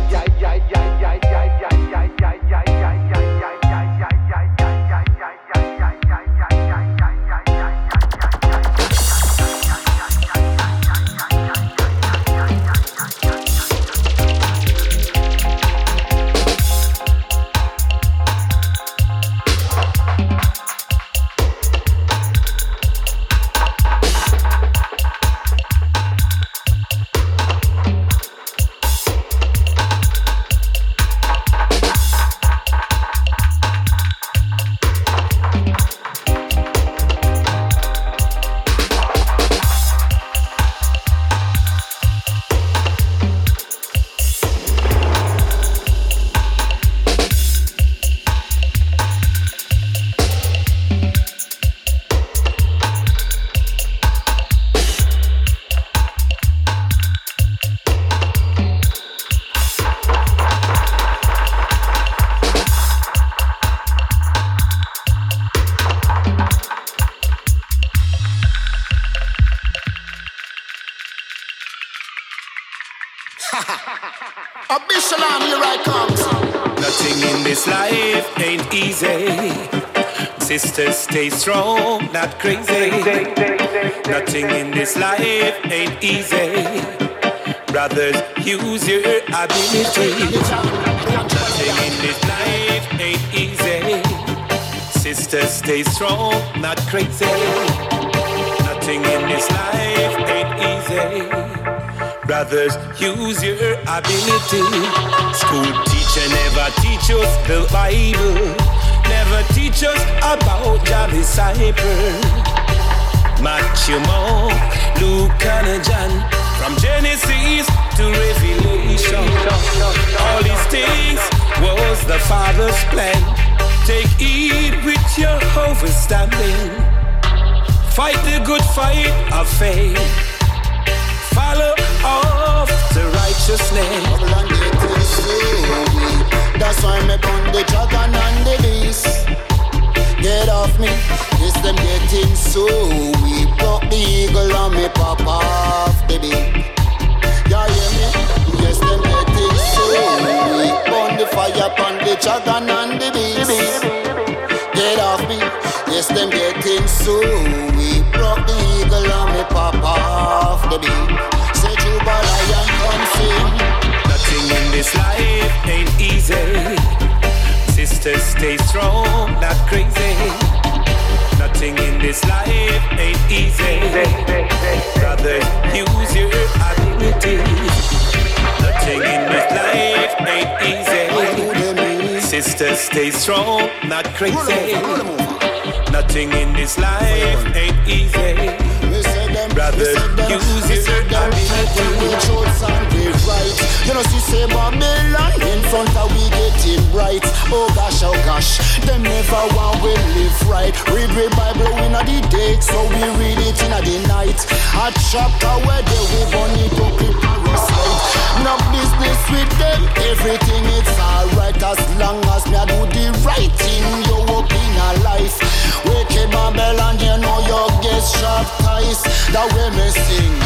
Sisters, stay strong, not crazy. Nothing in this life ain't easy. Brothers, use your ability. Nothing in this life ain't easy. Sisters, stay strong, not crazy. Nothing in this life ain't easy. Brothers, use your ability. School teacher never teach us the Bible. Never teach us about your disciple. Matthew, Mark, Luke and John. From Genesis to Revelation. All these things was the Father's plan. Take heed with your understanding. Fight the good fight of faith. Follow after righteousness. That's why me put the dragon and the beast. Get off me, yes them getting so weak. Broke the eagle and me pop off the beat. Ya hear me? Yes them getting so weak. Burn the fire upon the dragon and the beast. Get off me, yes them getting so weak. Broke the eagle and me pop off the beat. Say Juba Lion come sing. Nothing in this life ain't easy. Sisters, stay strong, not crazy. Nothing in this life ain't easy. Brothers, use your ability. Nothing in this life ain't easy. Sisters, stay strong, not crazy. Nothing in this life ain't easy. Brothers, use your ability. You know, see, say Babylon in front of we getting bright. Oh gosh, them never want we live right. Read the Bible in the day, so we read it in the night. A chapter where they we burn it up in parasite. No business with them, everything it's alright. As long as me I do the right thing, you up in a life. Wake up Babylon, you know you get sharp ties. That way me sing.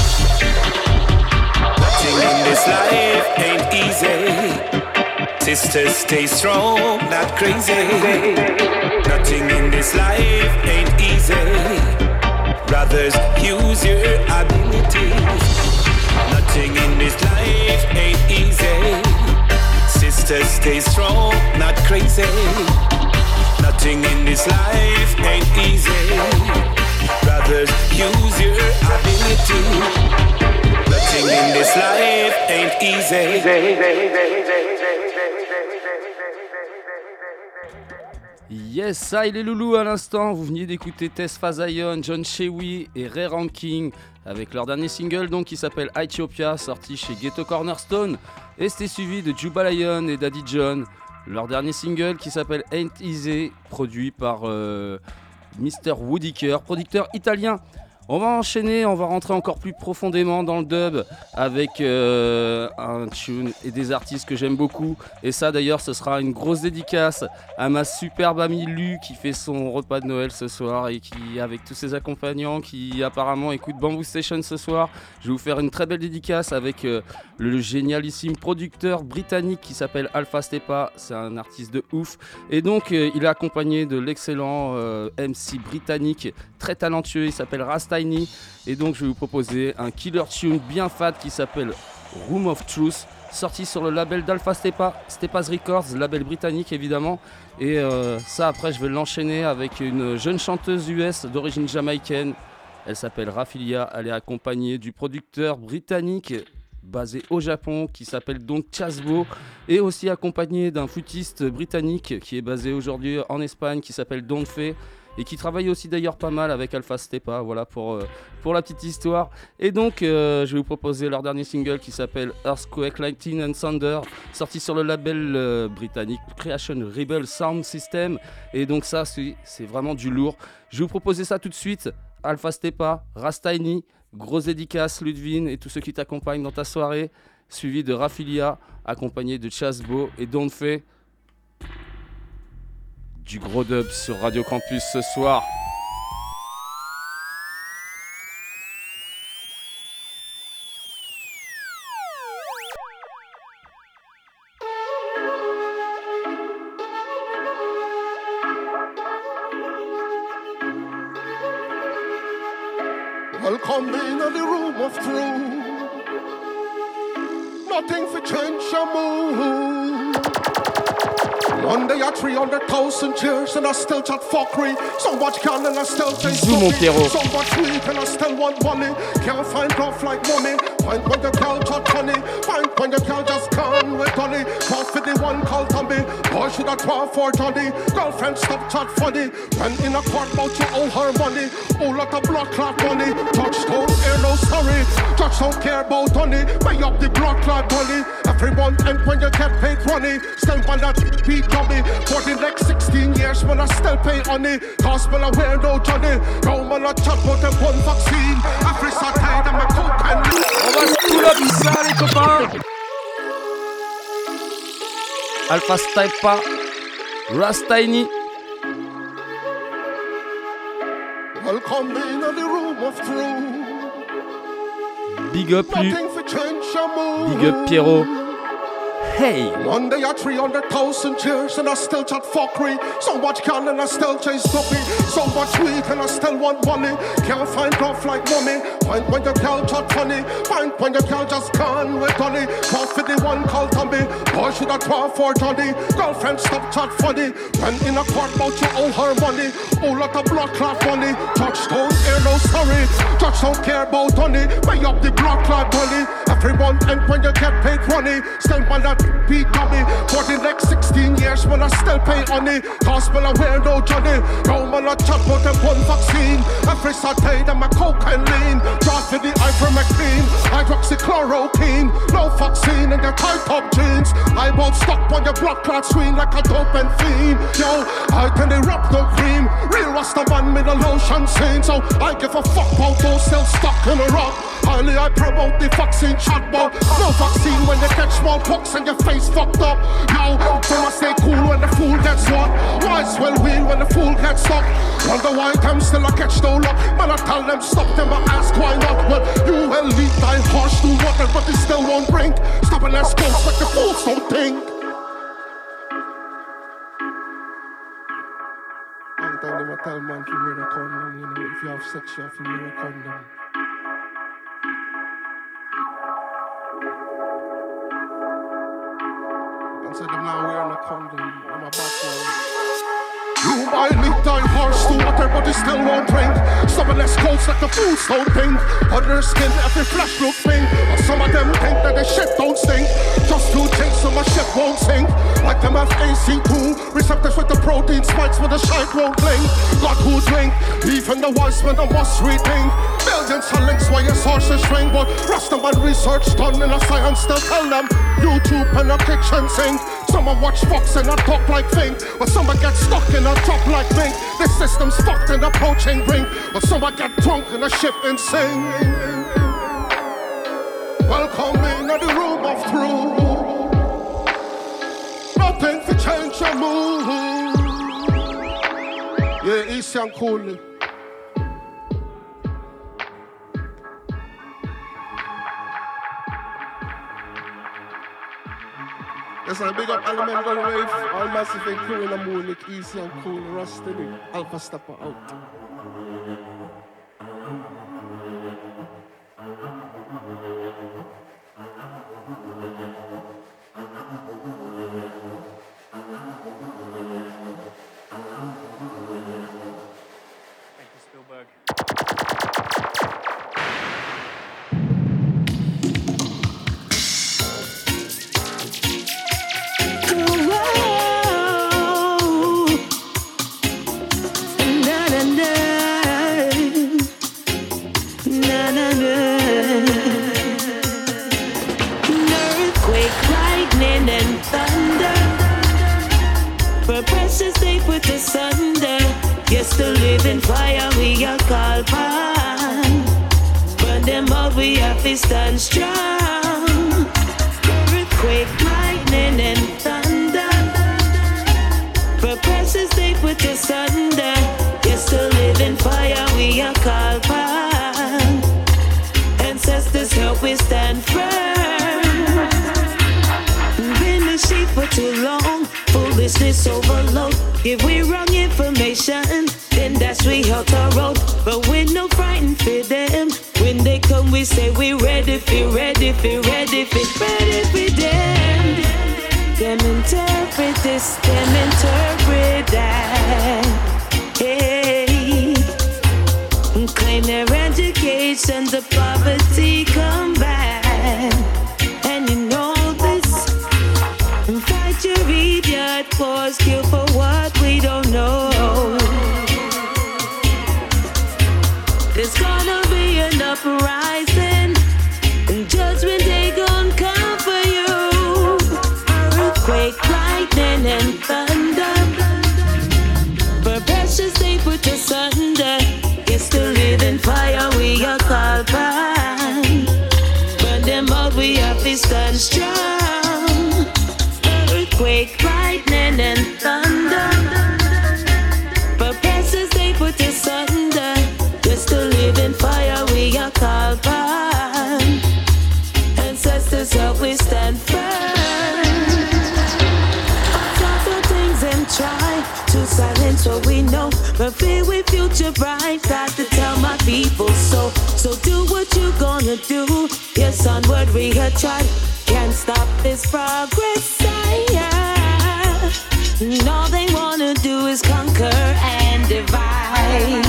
Nothing in this life ain't easy. Sisters, stay strong, not crazy. Nothing in this life ain't easy. Brothers, use your ability. Nothing in this life ain't easy. Sisters, stay strong, not crazy. Nothing in this life ain't easy. Brothers, use your ability. Nothing in this life ain't easy. Yes, ça il est loulou à l'instant. Vous veniez d'écouter Tesfa Zion, John Shewi et Ray Ranking avec leur dernier single donc qui s'appelle Ethiopia, sorti chez Ghetto Cornerstone. Et c'était suivi de Juba Lion et Daddy John, leur dernier single qui s'appelle Ain't Easy, produit par Mr. Woodiker, producteur italien. On va enchaîner, on va rentrer encore plus profondément dans le dub avec un tune et des artistes que j'aime beaucoup. Et ça d'ailleurs, ce sera une grosse dédicace à ma superbe amie Lu qui fait son repas de Noël ce soir et qui, avec tous ses accompagnants, qui apparemment écoutent Bamboo Station ce soir. Je vais vous faire une très belle dédicace avec le génialissime producteur britannique qui s'appelle Alpha Stepa. C'est un artiste de ouf. Et donc, il est accompagné de l'excellent MC britannique très talentueux. Il s'appelle Rastini. Et donc, je vais vous proposer un killer tune bien fat qui s'appelle Room of Truth, sorti sur le label d'Alpha Stepa, Stepa's Records, label britannique évidemment. Et ça, après, je vais l'enchaîner avec une jeune chanteuse US d'origine jamaïcaine. Elle s'appelle Rafilia. Elle est accompagnée du producteur britannique basé au Japon qui s'appelle donc Chasbo, et aussi accompagnée d'un flûtiste britannique qui est basé aujourd'hui en Espagne qui s'appelle Don Fe, et qui travaille aussi d'ailleurs pas mal avec Alpha Stepa, voilà pour la petite histoire. Et donc je vais vous proposer leur dernier single qui s'appelle Earthquake, Lightning and Thunder, sorti sur le label britannique Creation Rebel Sound System. Et donc ça c'est vraiment du lourd. Je vais vous proposer ça tout de suite. Alpha Stepa, Rastini, grosse dédicace Ludwin et tous ceux qui t'accompagnent dans ta soirée, suivi de Rafilia, accompagné de Chasbo et Don Fe. Du gros dub sur Radio Campus ce soir. Welcome in the room of truth. Nothing for change your mood. One day I 300,000 years and I still chat fuckery. So much gun and I still chase money. So much weed and I still want money. Can't find love like money. Find when the girl chat funny. Find when the girl just gone with money. Cross for the one called Tommy. Boy should have 12 for Johnny. Girlfriend stop chat funny. When in a court about you owe her money. Oh lot of blood clot money. Touch don't hear no sorry. Touch don't care about money. Pay up the blood clot money. Every month and when you get paid money. Still on that beat dummy. For the next 16 years when I still pay honey. Cause when I wear no Johnny. No man I chat about them one vaccine. Every Saturday them a coke and on va se pull up ça les copains. Alpha Stepa, Rastini. Welcome in the room of truth. Big up Lu. Big up Pierrot. Hey! One day I 300,000 years and I still chat fuckery. So much gun and I still chase puppy. So much weed and I still want money. Can't find love like money. Find when your girl chat funny. Find when your girl just gone with money. Cross for the one called Tommy. Boy should have 12 for Johnny. Girlfriend stop chat funny. When in a court about you owe her money. Oh lot of blood clot money. Touch don't hear no sorry. Touch don't care about money. Pay up the blood clot money. Every month and when you get paid money. Still on that beat dummy. For the next 16 years when I still pay honey. Cause when I wear no Johnny. No man I chat about them one vaccine. Every Saturday them a coke and lean. Draw for the ivermectin. Hydroxychloroquine. No vaccine in your tight top jeans. I won't stop on your blood clot screen like a dope and fiend. Yo, I can erupt no cream. Real Rasta man with a lotion scene. So I give a fuck about those still stuck in a rock. Highly I promote the vaccine shot, but no vaccine when you catch smallpox and your face fucked up. Yo, so I stay cool when the fool gets what? Wise well wheel when the fool gets stuck. Wonder why them still I catch no luck. Man I tell them stop them, I ask why not. Well, you will lead thy horse to water, but they still won't drink. Stop and ask ghosts like the fools don't think. One time them I tell man to wear a condom, you know, if you have sex you have to wear a condom. And said them now wearing a condom on my background. You might lead thy horse to water, but it still won't drink. Some of less coats like the fools don't think. On their skin, every flesh look pink. But some of them think that the shit don't stink. Just to chase so my shit won't sink. Like them have AC2, receptors with the protein spikes where the shite won't blink. God who drink, even the wise men must rethink. Millions of links why your sources shrink. But Rastaman research done in a science still tell them YouTube and a kitchen sink. Some watch Fox and I talk like thing, but some get stuck in a top like thing. The system's fucked in the poaching ring, but some get drunk in a ship and sing. Welcome in the room of truth. Nothing to change your mood. Yeah, easy and coolly. Yes, I big up Element Gun Wave, all massive and crew in the moon, like easy and cool, rusty, Alpha Stepper out. Stand strong. Earthquake, lightning, and thunder. For precious they put asunder. Yes, to live in fire we are called upon. Ancestors help we stand firm. Been the sheep for too long. Foolishness overload. If we wrong information, then that's we out our road. But we're no frightened for them. When they come, we say we ready for them. Them interpret this, them interpret that. Hey, claim their education, the poverty come back. And you know this, fight your idiot cause, kill for what we don't know. There's gonna be an uprising, and judgment day gon' come for you. Earthquake, lightning, and thunder. For precious they put asunder. Yes, to live in fire we are called upon. Burn them out, we have to stand strong. Earthquake, lightning, and thunder. For precious they put asunder. Just to live in fire we are called upon. Ancestors help we stand firm. Talk the things and try to silence what we know, but fear we future bright. Got to tell my people so. So do what you gonna do. Yes, onward we have tried. Can't stop this progress. All they wanna do is conquer and divide.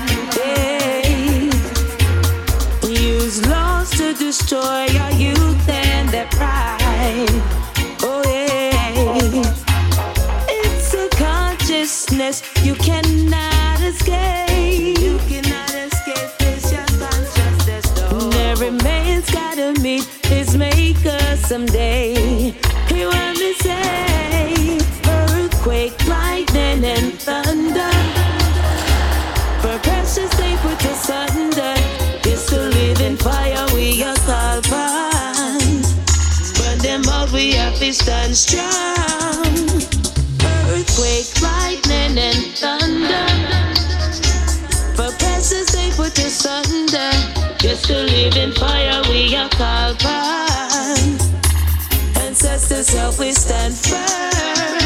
Use laws to destroy our youth and their pride. Oh yeah, it's a consciousness you cannot escape. You cannot escape this, your consciousness. No. Every man's gotta meet his maker someday. Hear what me say? Earthquake, lightning, and thunder. For precious they put asunder. Yes, to live in fire we are called upon. Burn them out, we have to stand strong. Earthquake, lightning, and thunder. For precious they put asunder. Yes, to live in fire we are called upon. Ancestors help we stand firm.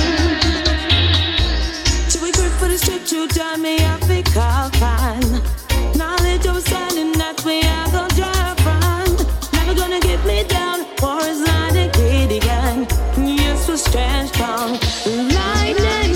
Should we grip for the strip to join me? I think I'll find knowledge of standing that we are gonna drive from. Never gonna get me down, or is not a greedy gang. Yes, we're strange strong. Lightning.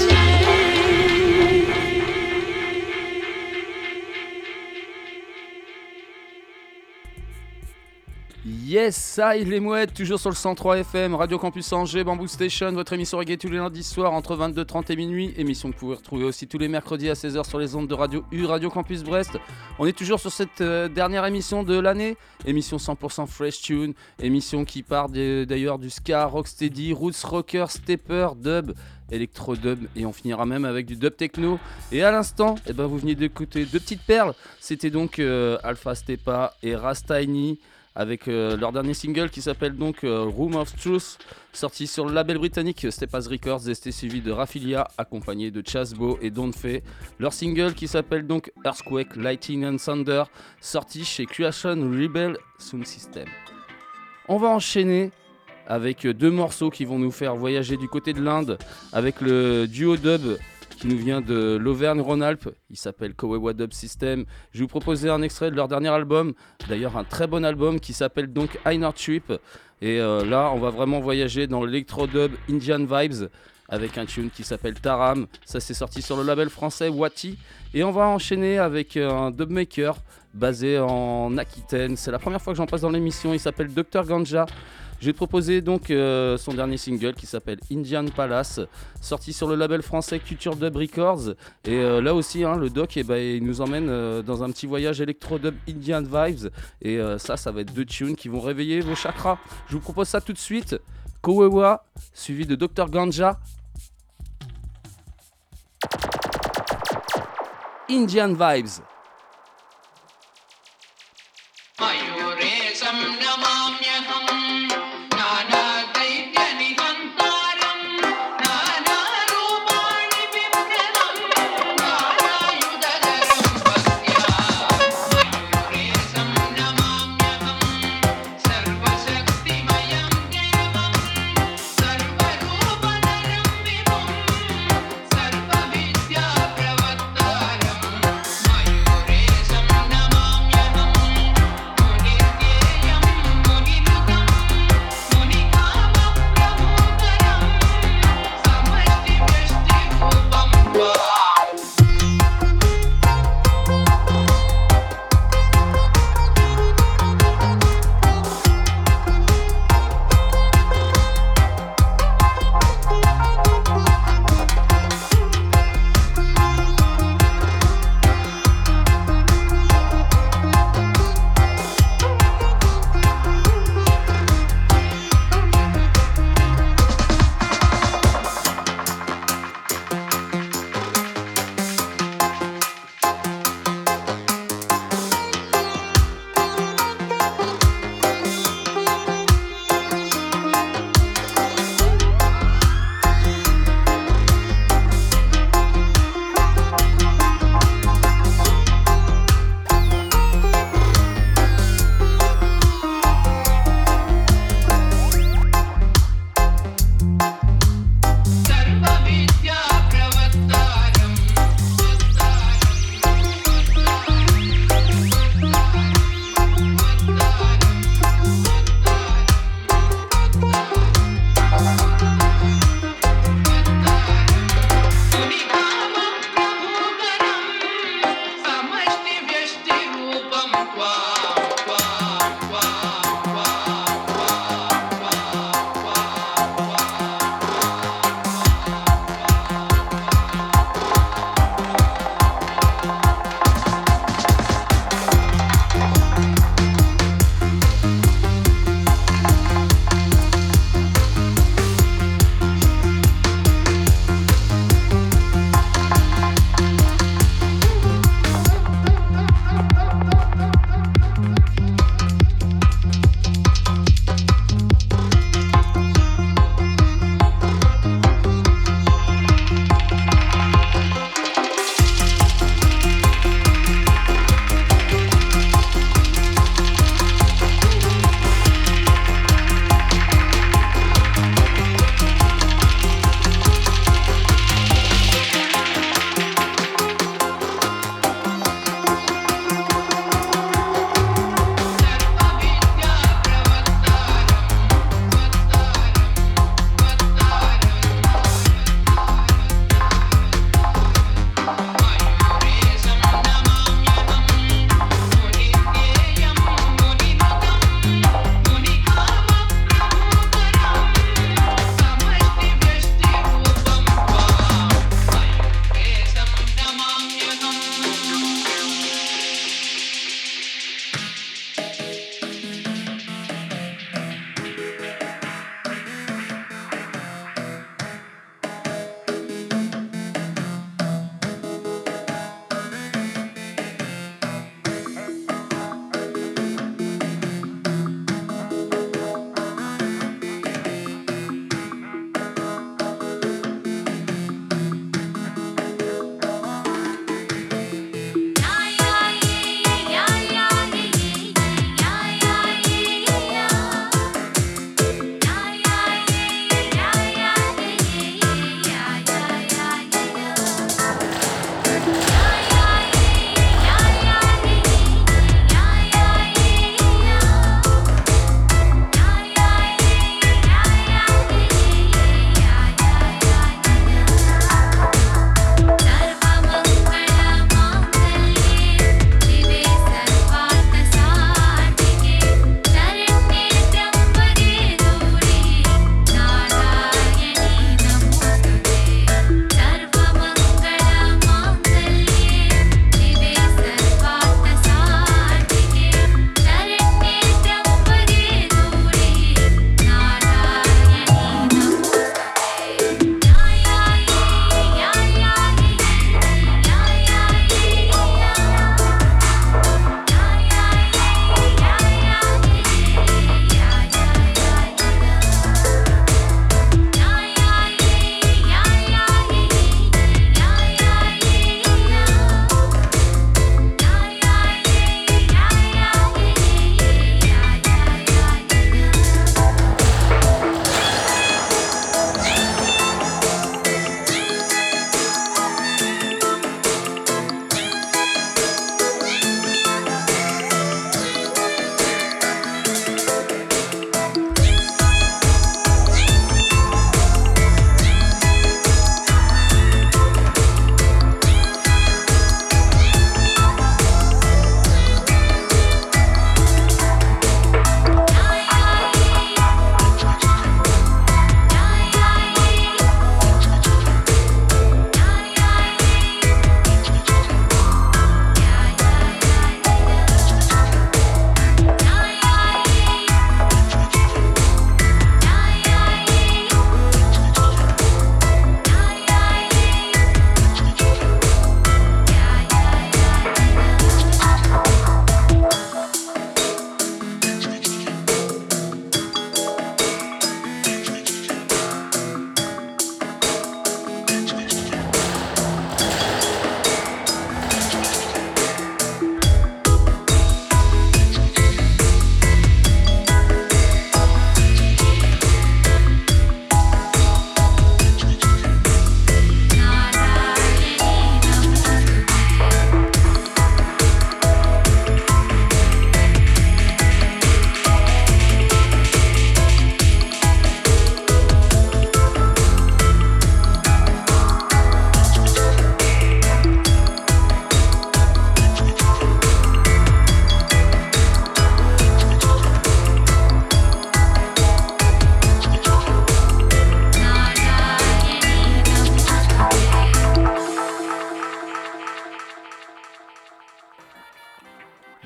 Yes, ça il les mouettes, toujours sur le 103 FM, Radio Campus Angers, Bamboo Station, votre émission reggae tous les lundis soirs entre 22h30 et minuit, émission que vous pouvez retrouver aussi tous les mercredis à 16h sur les ondes de Radio U, Radio Campus Brest. On est toujours sur cette dernière émission de l'année, émission 100% fresh tune, émission qui part d'ailleurs du ska, rocksteady, roots rocker, stepper, dub, électro-dub et on finira même avec du dub techno. Et à l'instant, vous venez d'écouter deux petites perles, c'était donc Alpha Stepa et Rastaini avec leur dernier single qui s'appelle donc Room of Truth, sorti sur le label britannique Stepa's Records, et c'était suivi de Rafilia accompagné de Chasbo et Don't Fay. Leur single qui s'appelle donc Earthquake, Lightning and Thunder, sorti chez Creation Rebel Sound System. On va enchaîner avec deux morceaux qui vont nous faire voyager du côté de l'Inde avec le duo dub qui nous vient de l'Auvergne-Rhône-Alpes. Il s'appelle Kowewa Dub System. Je vais vous proposer un extrait de leur dernier album, d'ailleurs un très bon album qui s'appelle donc Einar Trip. Et là, on va vraiment voyager dans l'électro-dub Indian Vibes avec un tune qui s'appelle Taram. Ça, c'est sorti sur le label français Wati. Et on va enchaîner avec un dubmaker basé en Aquitaine. C'est la première fois que j'en passe dans l'émission. Il s'appelle Dr Ganja. Je vais te proposer donc son dernier single qui s'appelle Indian Palace, sorti sur le label français Culture Dub Records. Et là aussi, le doc, il nous emmène dans un petit voyage électro-dub Indian Vibes. Et ça va être deux tunes qui vont réveiller vos chakras. Je vous propose ça tout de suite. Kowewa, suivi de Dr Ganja. Indian Vibes. Mayur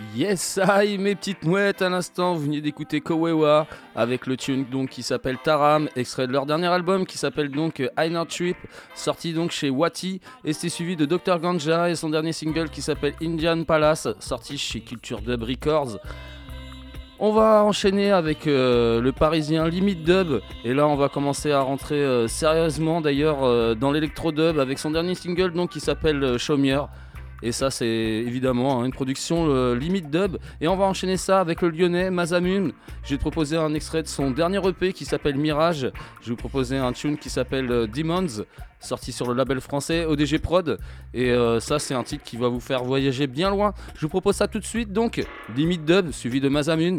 Yes, aïe, mes petites mouettes, à l'instant, vous venez d'écouter Kowewa avec le tune donc qui s'appelle Taram, extrait de leur dernier album qui s'appelle donc Inner Trip, sorti donc chez Wati, et c'est suivi de Dr Ganja et son dernier single qui s'appelle Indian Palace, sorti chez Culture Dub Records. On va enchaîner avec le parisien Limit Dub, et là on va commencer à rentrer sérieusement d'ailleurs dans l'électro dub avec son dernier single donc qui s'appelle Chaumier. Et ça c'est évidemment une production Limit Dub. Et on va enchaîner ça avec le lyonnais Mazamun. Je vais te proposer un extrait de son dernier EP qui s'appelle Mirage. Je vais vous proposer un tune qui s'appelle Demons, sorti sur le label français ODG Prod. Et ça c'est un titre qui va vous faire voyager bien loin. Je vous propose ça tout de suite donc. Limit Dub suivi de Mazamun.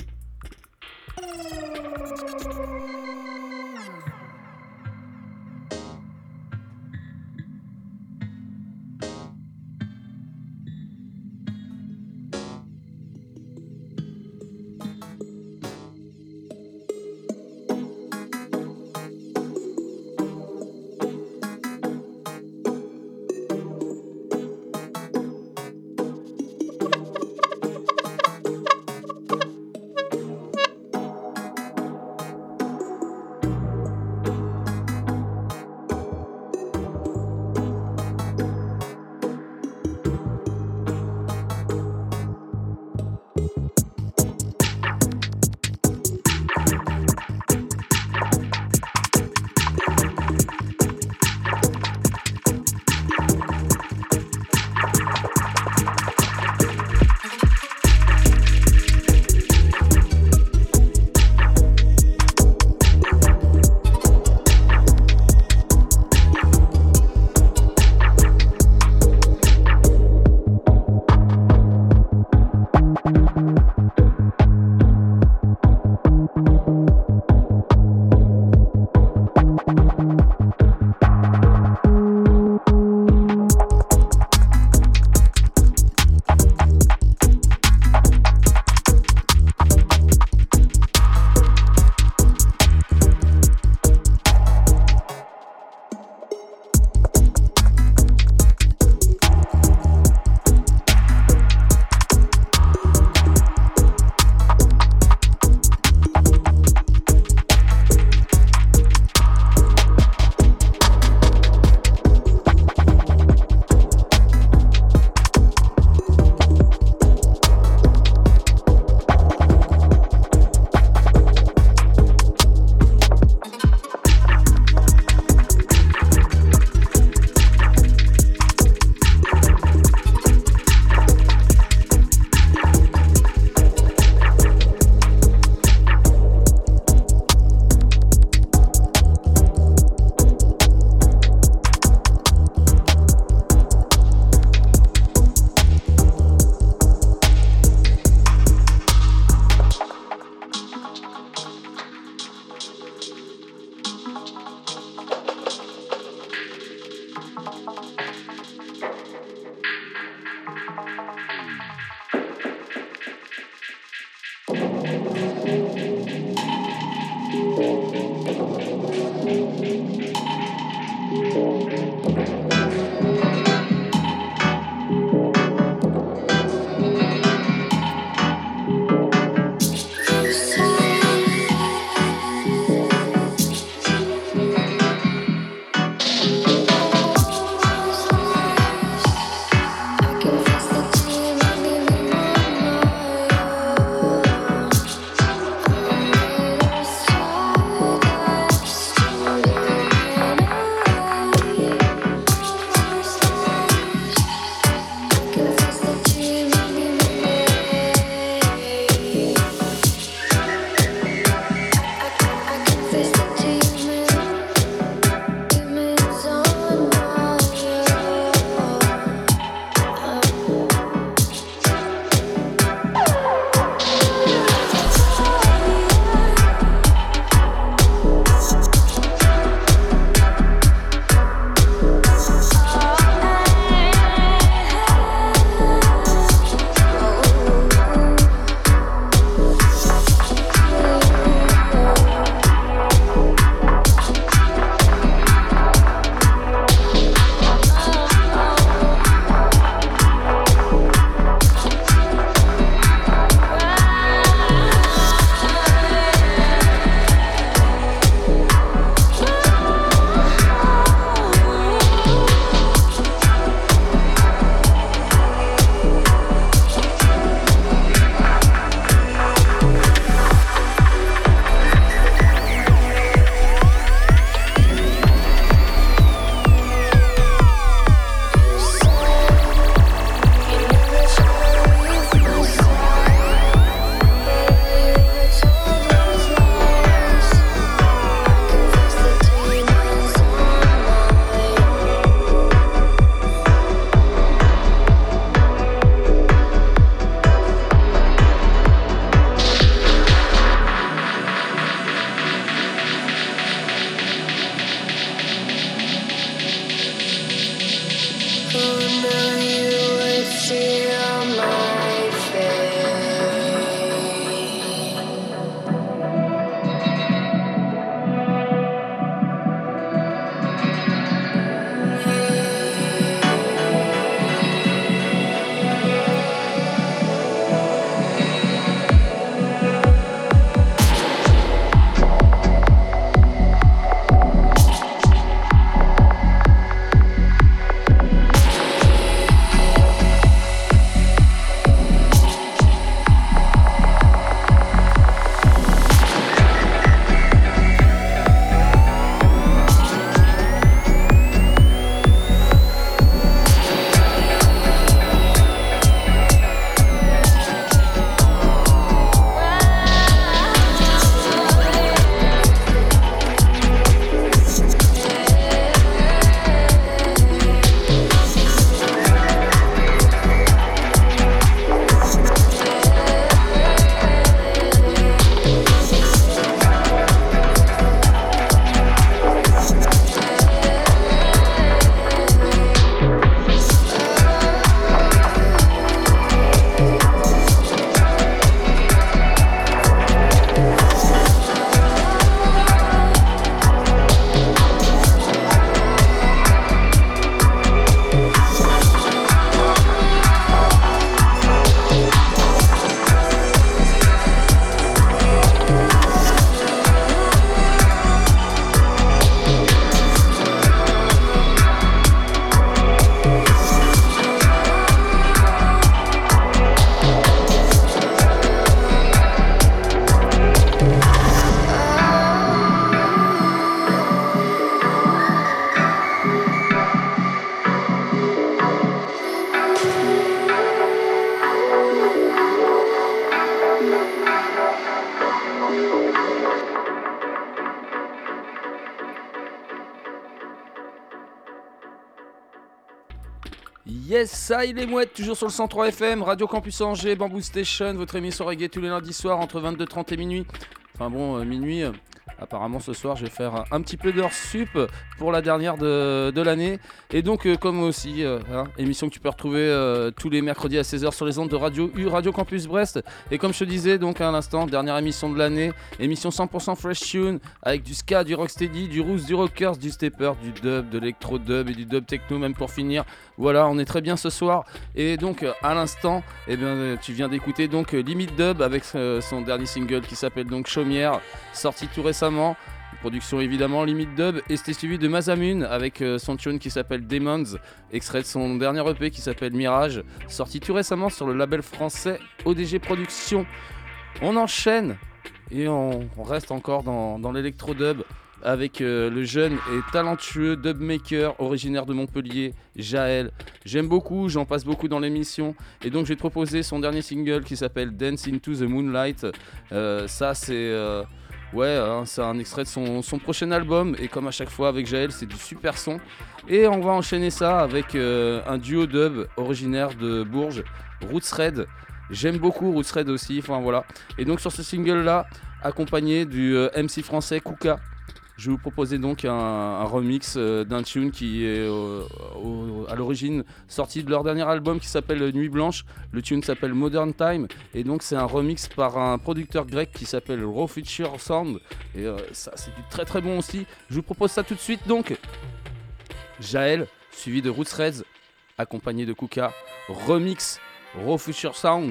Yes, ça il est mouette, toujours sur le 103 FM, Radio Campus Angers, Bamboo Station, votre émission reggae tous les lundis soirs entre 22h30 et minuit. Enfin bon, minuit, apparemment ce soir je vais faire un petit peu d'heures sup pour la dernière de l'année. Et donc comme aussi, émission que tu peux retrouver tous les mercredis à 16h sur les ondes de Radio U, Radio Campus Brest. Et comme je te disais donc à l'instant, dernière émission de l'année, émission 100% fresh tune, avec du ska, du rocksteady, du roots, du rockers, du stepper, du dub, de l'électro-dub et du dub techno même pour finir. Voilà, on est très bien ce soir. Et donc à l'instant, eh bien, tu viens d'écouter donc Limit Dub avec son dernier single qui s'appelle donc Chaumière, sorti tout récemment. Production évidemment Limit Dub, et c'était suivi de Masamune avec son tune qui s'appelle Demons, extrait de son dernier EP qui s'appelle Mirage, sorti tout récemment sur le label français ODG Productions. On enchaîne et on reste encore dans l'électro-dub avec le jeune et talentueux dubmaker originaire de Montpellier, Jaël. J'aime beaucoup, j'en passe beaucoup dans l'émission, et donc je vais te proposer son dernier single qui s'appelle Dance into the Moonlight. Ça c'est... c'est un extrait de son prochain album, et comme à chaque fois avec Jaël, c'est du super son. Et on va enchaîner ça avec un duo dub originaire de Bourges, Roots Red. J'aime beaucoup Roots Red aussi, enfin voilà. Et donc sur ce single là, accompagné du MC français Kuka, je vais vous proposer donc un remix d'un tune qui est à l'origine sorti de leur dernier album qui s'appelle Nuit Blanche. Le tune s'appelle Modern Time, et donc c'est un remix par un producteur grec qui s'appelle Raw Future Sound, et ça c'est du très très bon aussi. Je vous propose ça tout de suite donc. Jaël suivi de Roots Reds accompagné de Kuka, remix Raw Future Sound.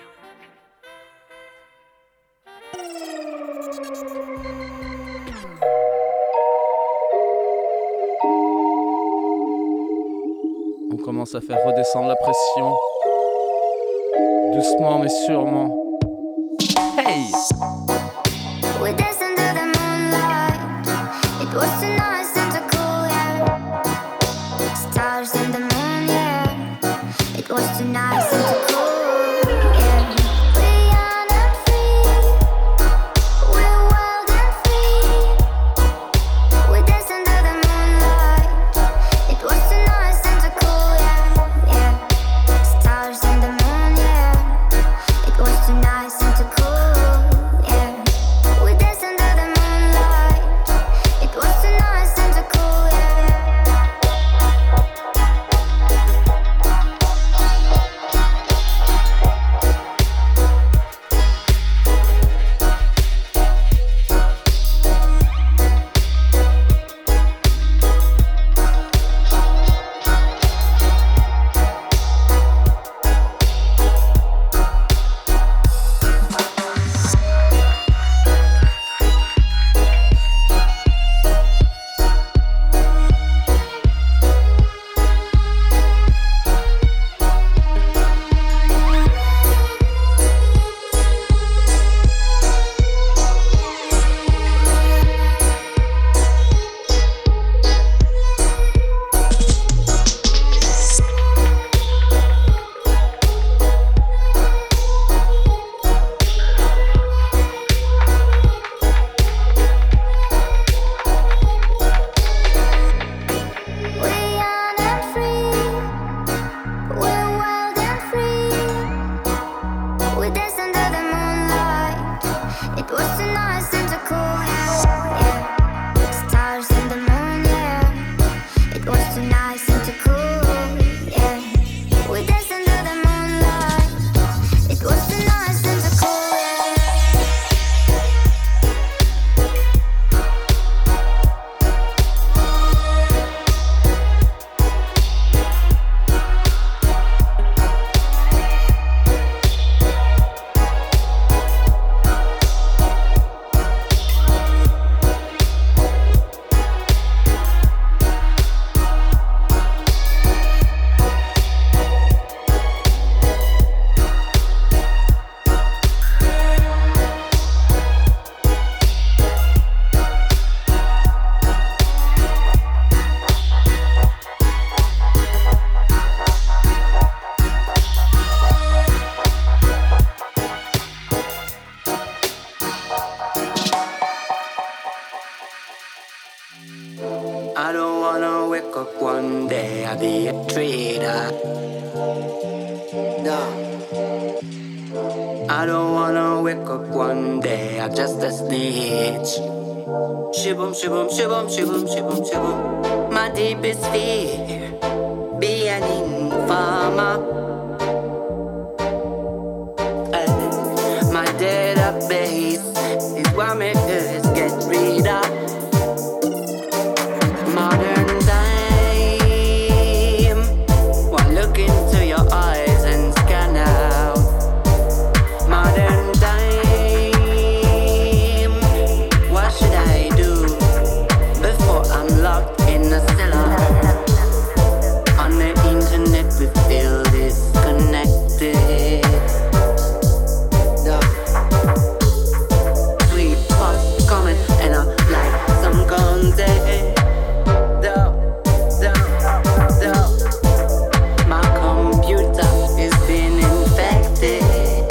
On commence à faire redescendre la pression, doucement mais sûrement. Hey! We danced under the moonlight. It was too nice and too cool, yeah. Stars in the moon, yeah. It was too nice and too cool, yeah. We young and free. We're wild and free. We danced under the moonlight. It was too nice and too cool, yeah, yeah. Stars in the moon, yeah. It was too nice and too cool. I don't wanna wake up one day, I'll be a traitor. I don't wanna wake up one day, I'm just a snitch. Shibum, shibum, shibum, shibum, shibum, shibum. My deepest fear, be an informer. My database is what makes us get rid of modern time. One look into your eyes and scan out modern time. What should I do before I'm locked in a cellar? On the internet we feel disconnected. Sweet pop comment and I like some content. My computer is being infected.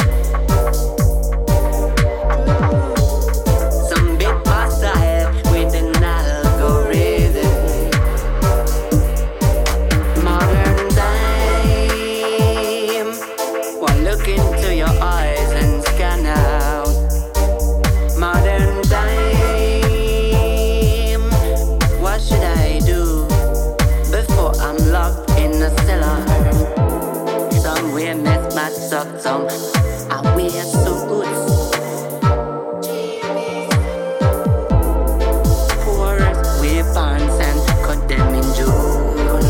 Some big hostile with an algorithm. Modern time. One look into your eyes and scan out. Modern time. What should I do before I'm locked in a cellar? Some wear mismatched up, some I wear suits. Poorest wear pants and cut them in June.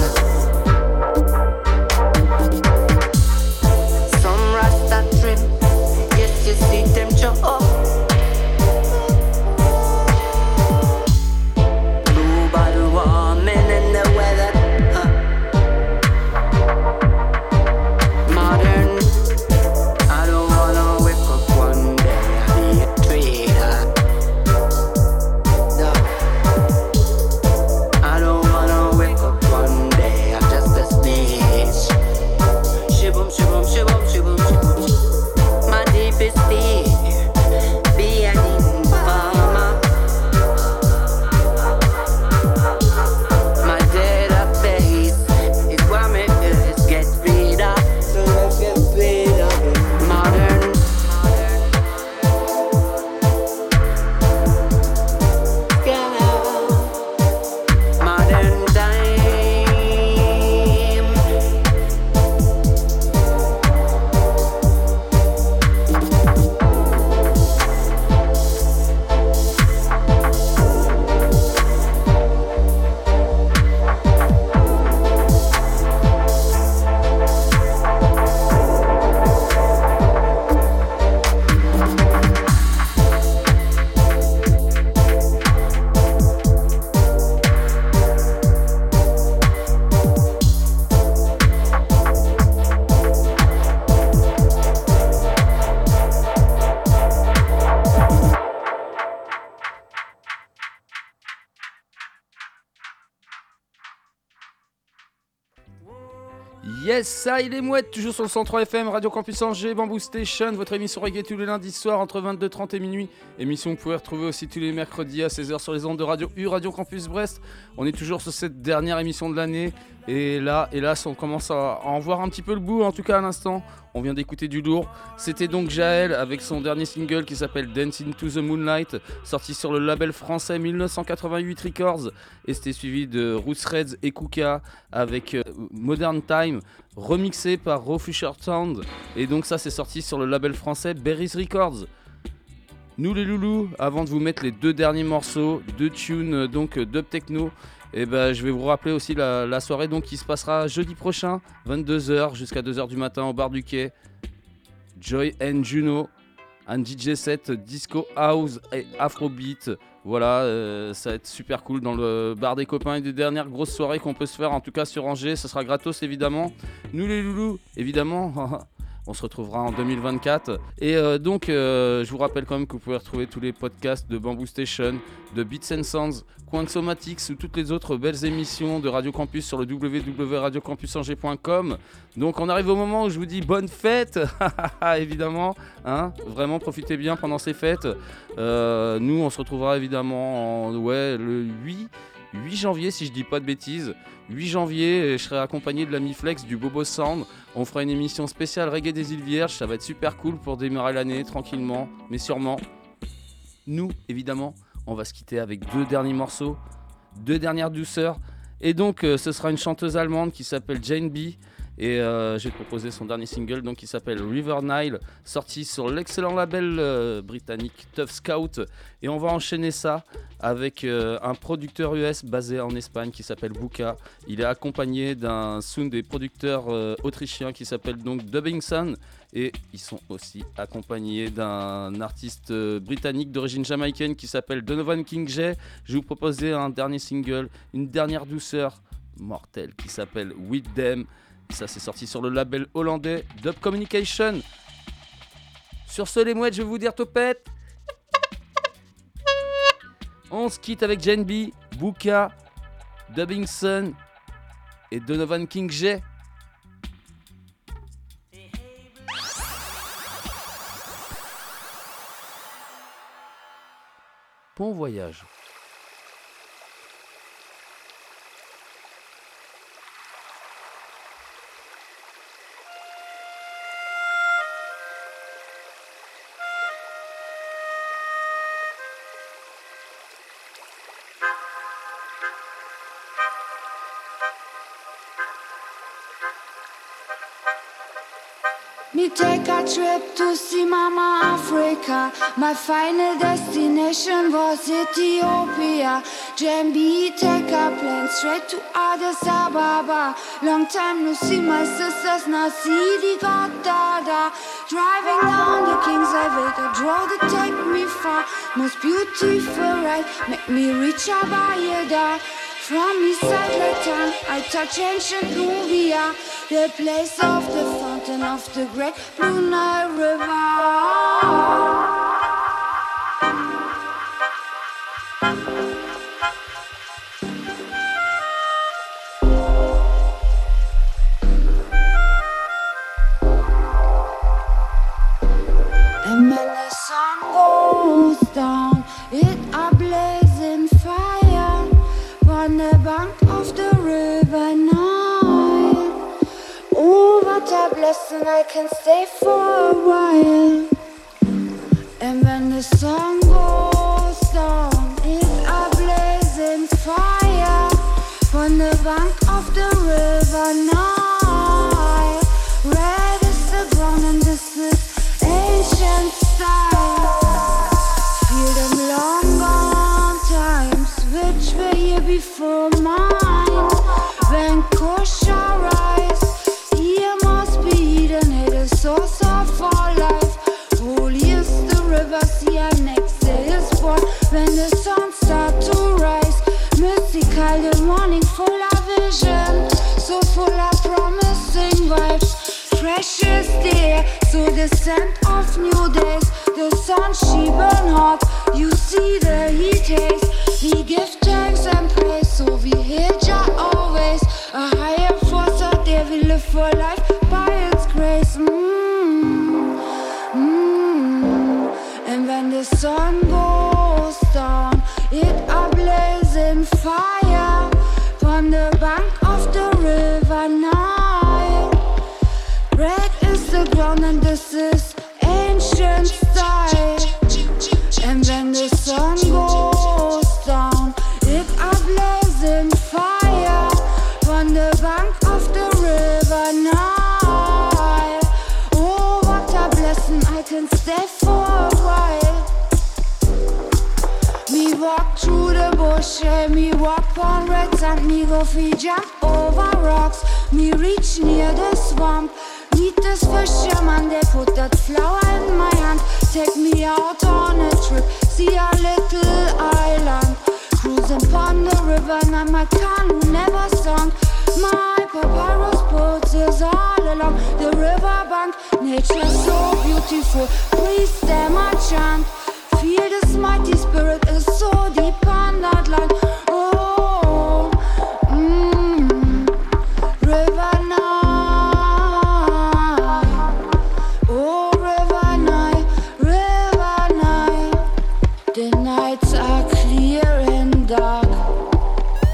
Some rasta trim, yes you see them show up. Global warming and the weather. Modern. I don't wanna wake up one day and be a traitor. No. I don't wanna wake up one day, I'm just a snitch. Shibum, shibum, shibum, shibum, shibum. My deepest fear, be an informer. My database is what makes us get rid of. So let's get rid of it. Modern. Scan out. Modern time. Yes, ça il est mouette, toujours sur le 103 FM, Radio Campus Angers, Bamboo Station, votre émission reggae tous les lundis soirs entre 22h30 et minuit. Émission que vous pouvez retrouver aussi tous les mercredis à 16h sur les ondes de Radio U, Radio Campus Brest. On est toujours sur cette dernière émission de l'année et là, hélas, on commence à en voir un petit peu le bout, en tout cas à l'instant. On vient d'écouter du lourd. C'était donc Jaël avec son dernier single qui s'appelle Dance into the Moonlight, sorti sur le label français 1988 Records. Et c'était suivi de Roots Reds et Kuka avec Modern Time, remixé par Raw Future Sound. Et donc ça c'est sorti sur le label français Berries Records. Nous les loulous, avant de vous mettre les deux derniers morceaux, deux tunes donc dub techno, et je vais vous rappeler aussi la soirée donc, qui se passera jeudi prochain, 22h jusqu'à 2h du matin au bar du quai. Joy and Juno, un DJ set disco house et afrobeat. Voilà, ça va être super cool dans le bar des copains, et des dernières grosses soirées qu'on peut se faire, en tout cas sur Angers. Ça sera gratos évidemment. Nous les loulous, évidemment. On se retrouvera en 2024. Et donc, je vous rappelle quand même que vous pouvez retrouver tous les podcasts de Bamboo Station, de Beats and Sounds, Quantsomatics ou toutes les autres belles émissions de Radio Campus sur le www.radiocampusangers.com. Donc, on arrive au moment où je vous dis bonne fête, évidemment. Hein, vraiment, profitez bien pendant ces fêtes. Nous, on se retrouvera évidemment le 8 8 janvier si je dis pas de bêtises. 8 janvier, je serai accompagné de l'ami Flex du Bobo Sound. On fera une émission spéciale Reggae des Îles Vierges. Ça va être super cool pour démarrer l'année tranquillement, mais sûrement. Nous, évidemment, on va se quitter avec 2 derniers morceaux, 2 dernières douceurs. Et donc, ce sera une chanteuse allemande qui s'appelle Jane B. Et j'ai proposé son dernier single donc, qui s'appelle River Nile, sorti sur l'excellent label britannique Tough Scout. Et on va enchaîner ça avec un producteur US basé en Espagne qui s'appelle Buka. Il est accompagné d'un sound des producteurs autrichiens qui s'appelle donc Dubbingson. Et ils sont aussi accompagnés d'un artiste britannique d'origine jamaïcaine qui s'appelle Donovan King J. Je vais vous proposer un dernier single, une dernière douceur mortelle qui s'appelle With Them. Ça, c'est sorti sur le label hollandais Dub Communication. Sur ce, les mouettes, je vais vous dire topette. On se quitte avec Jane B, Buka, Dubbingson et Donovan King J. Bon voyage. Me take a trip to see Mama Africa. My final destination was Ethiopia. Jambi take a plane straight to Addis Ababa. Long time no see my sisters, now see the Godada. Driving down the King's Highway, the road to take me far. Most beautiful ride, make me reach Abayeda. From east side Lake Town, I touch ancient Nubia, the place of the fountain of the great Blue Nile River. And when the sun goes down, it a blazing fire on the bank of the river Nile. Oh, what a blessing, I can stay for a while. And when the sun goes down, it's a blazing fire on the bank of the river Nile. Red is the ground and this is ancient style. Feel them long gone times, which were here before mine. When kosher rise, here must be Eden, it is source of all life. Holy is the river, see and next day is born. When the sun starts to rise, mystical the morning full of vision, so full of promising vibes. Fresh is the air, so the scent of new days. The sun she burn hot, you see the heat haze. We give thanks and praise, so we hail Jah always. A higher force out there, we live for life by its grace. And when the sun goes down, it a blazing fire on the bank of the river Nile. Red is the ground and this is ancient style. And when the sun goes down, it a blazing fire on the bank of the river Nile. Oh, what a blessing, I can stay for a while. Me walk through the bush, me walk on red sand, me go free jump over rocks. Me reach near the swamp, meet this fisherman, they put that flower in my hand. Take me out on a trip, see a little island. Cruising upon the river, now my canoe never sunk. My papyrus boat is all along the river bank. Nature so beautiful, please them a chant. Feel this mighty spirit is so deep on that land. Oh, River Nile. Oh, River Nile, River Nile. The nights are clear and dark.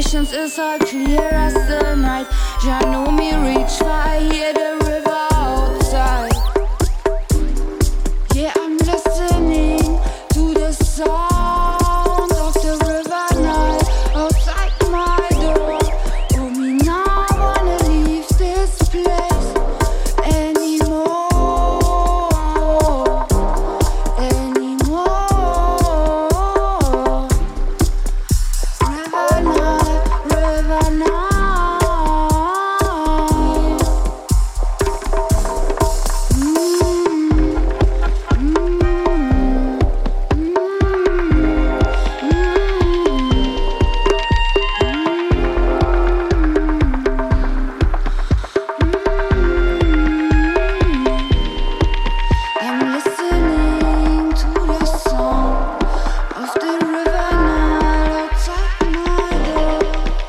conscience is all clear as the night. Jah know me reach far, hear the river outside. Yeah, I'm listening to the sound of the river night outside my door. Oh, me now wanna leave this place anymore. River night. I'm listening to the sound of the river night outside my door.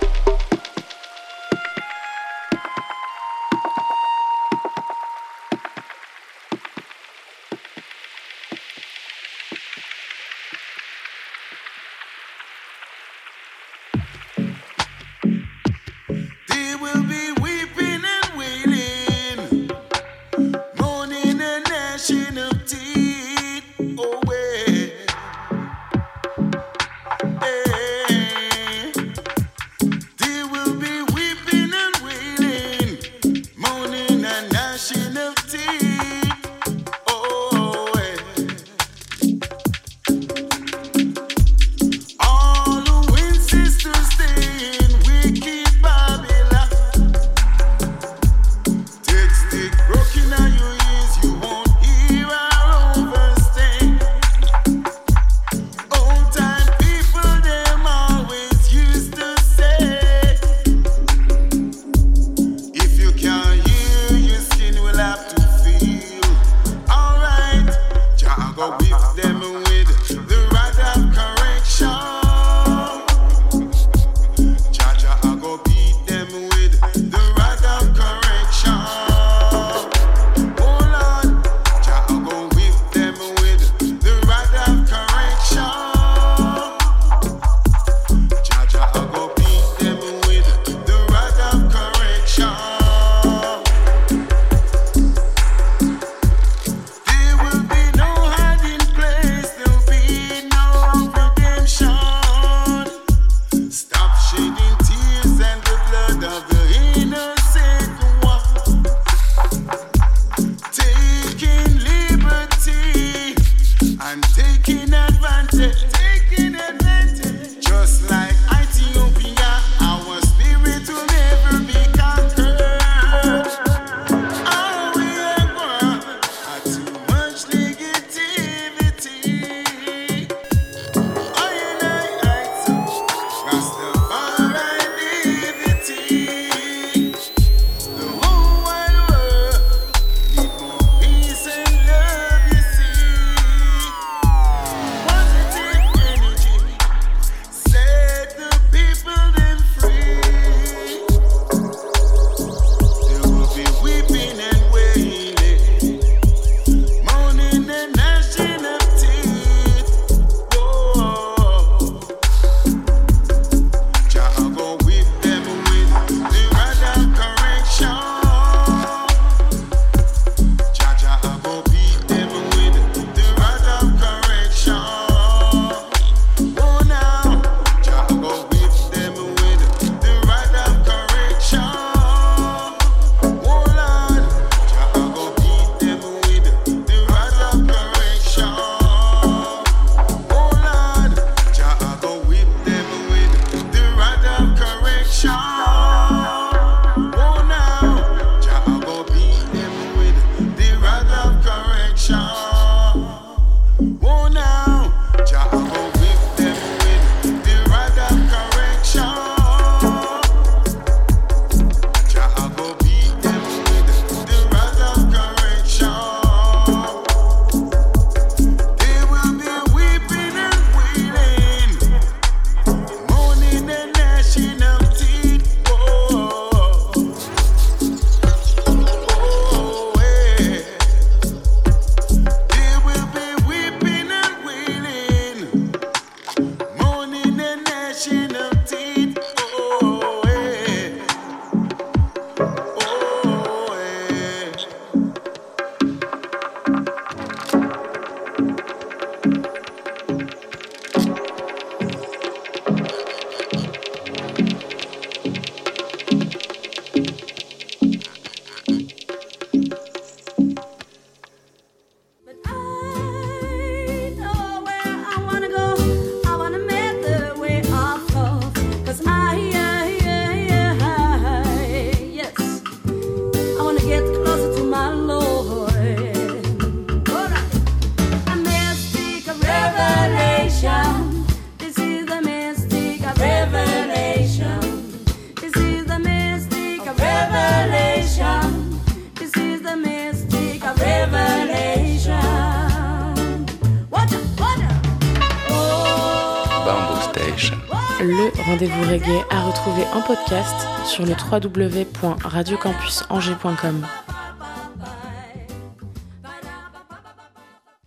They will be weeping and wailing, mourning and gnashing of teeth. Oh, they will be weeping and wailing, mourning and gnashing of teeth. Oh, all who insist to stay in wicked Babylon, take stick broken on your ears, you won't hear our overstay. Old time people, them always used to say, if you can't hear, your skin will have to feel. Alright, Jah go whip them with the rod of correction. Jah I go beat them with the rod of correction. Oh Lord, Jah I go whip them with the rod of correction. Jah I go beat them with the rod of correction. There will be no hiding place, there'll be no redemption. Stop shedding tears and the blood of the innocent one. Taking liberty and taking advantage. Just like Ethiopia, our spirit will never be conquered. Oh, we are born too much negativity. I so Rastafari liberty. The whole wide world need more peace and love, you see. Positive energy set the people them free. There will be weeping and wailing, mourning and gnashing of teeth. Whoa. Jah go whip them with the rod of correction. Jah go beat them with the rod of correction. Oh now, Jah go whip them with the rod of correction. Oh Lord, Jah go beat them with the rod of correction. Oh Lord, Jah go whip them with the rod of correction. Oh now, Jah go beat them with the rod of correction. Oh now, Jah go whip them with the rod of correction. Jah go beat them with the rod of correction. They will be weeping and wailing, mourning and gnashing of teeth. Oh, they will be weeping and wailing, mourning and gnashing of teeth. Oh, Rendez-vous reggae à retrouver en podcast sur le www.radiocampusangers.com.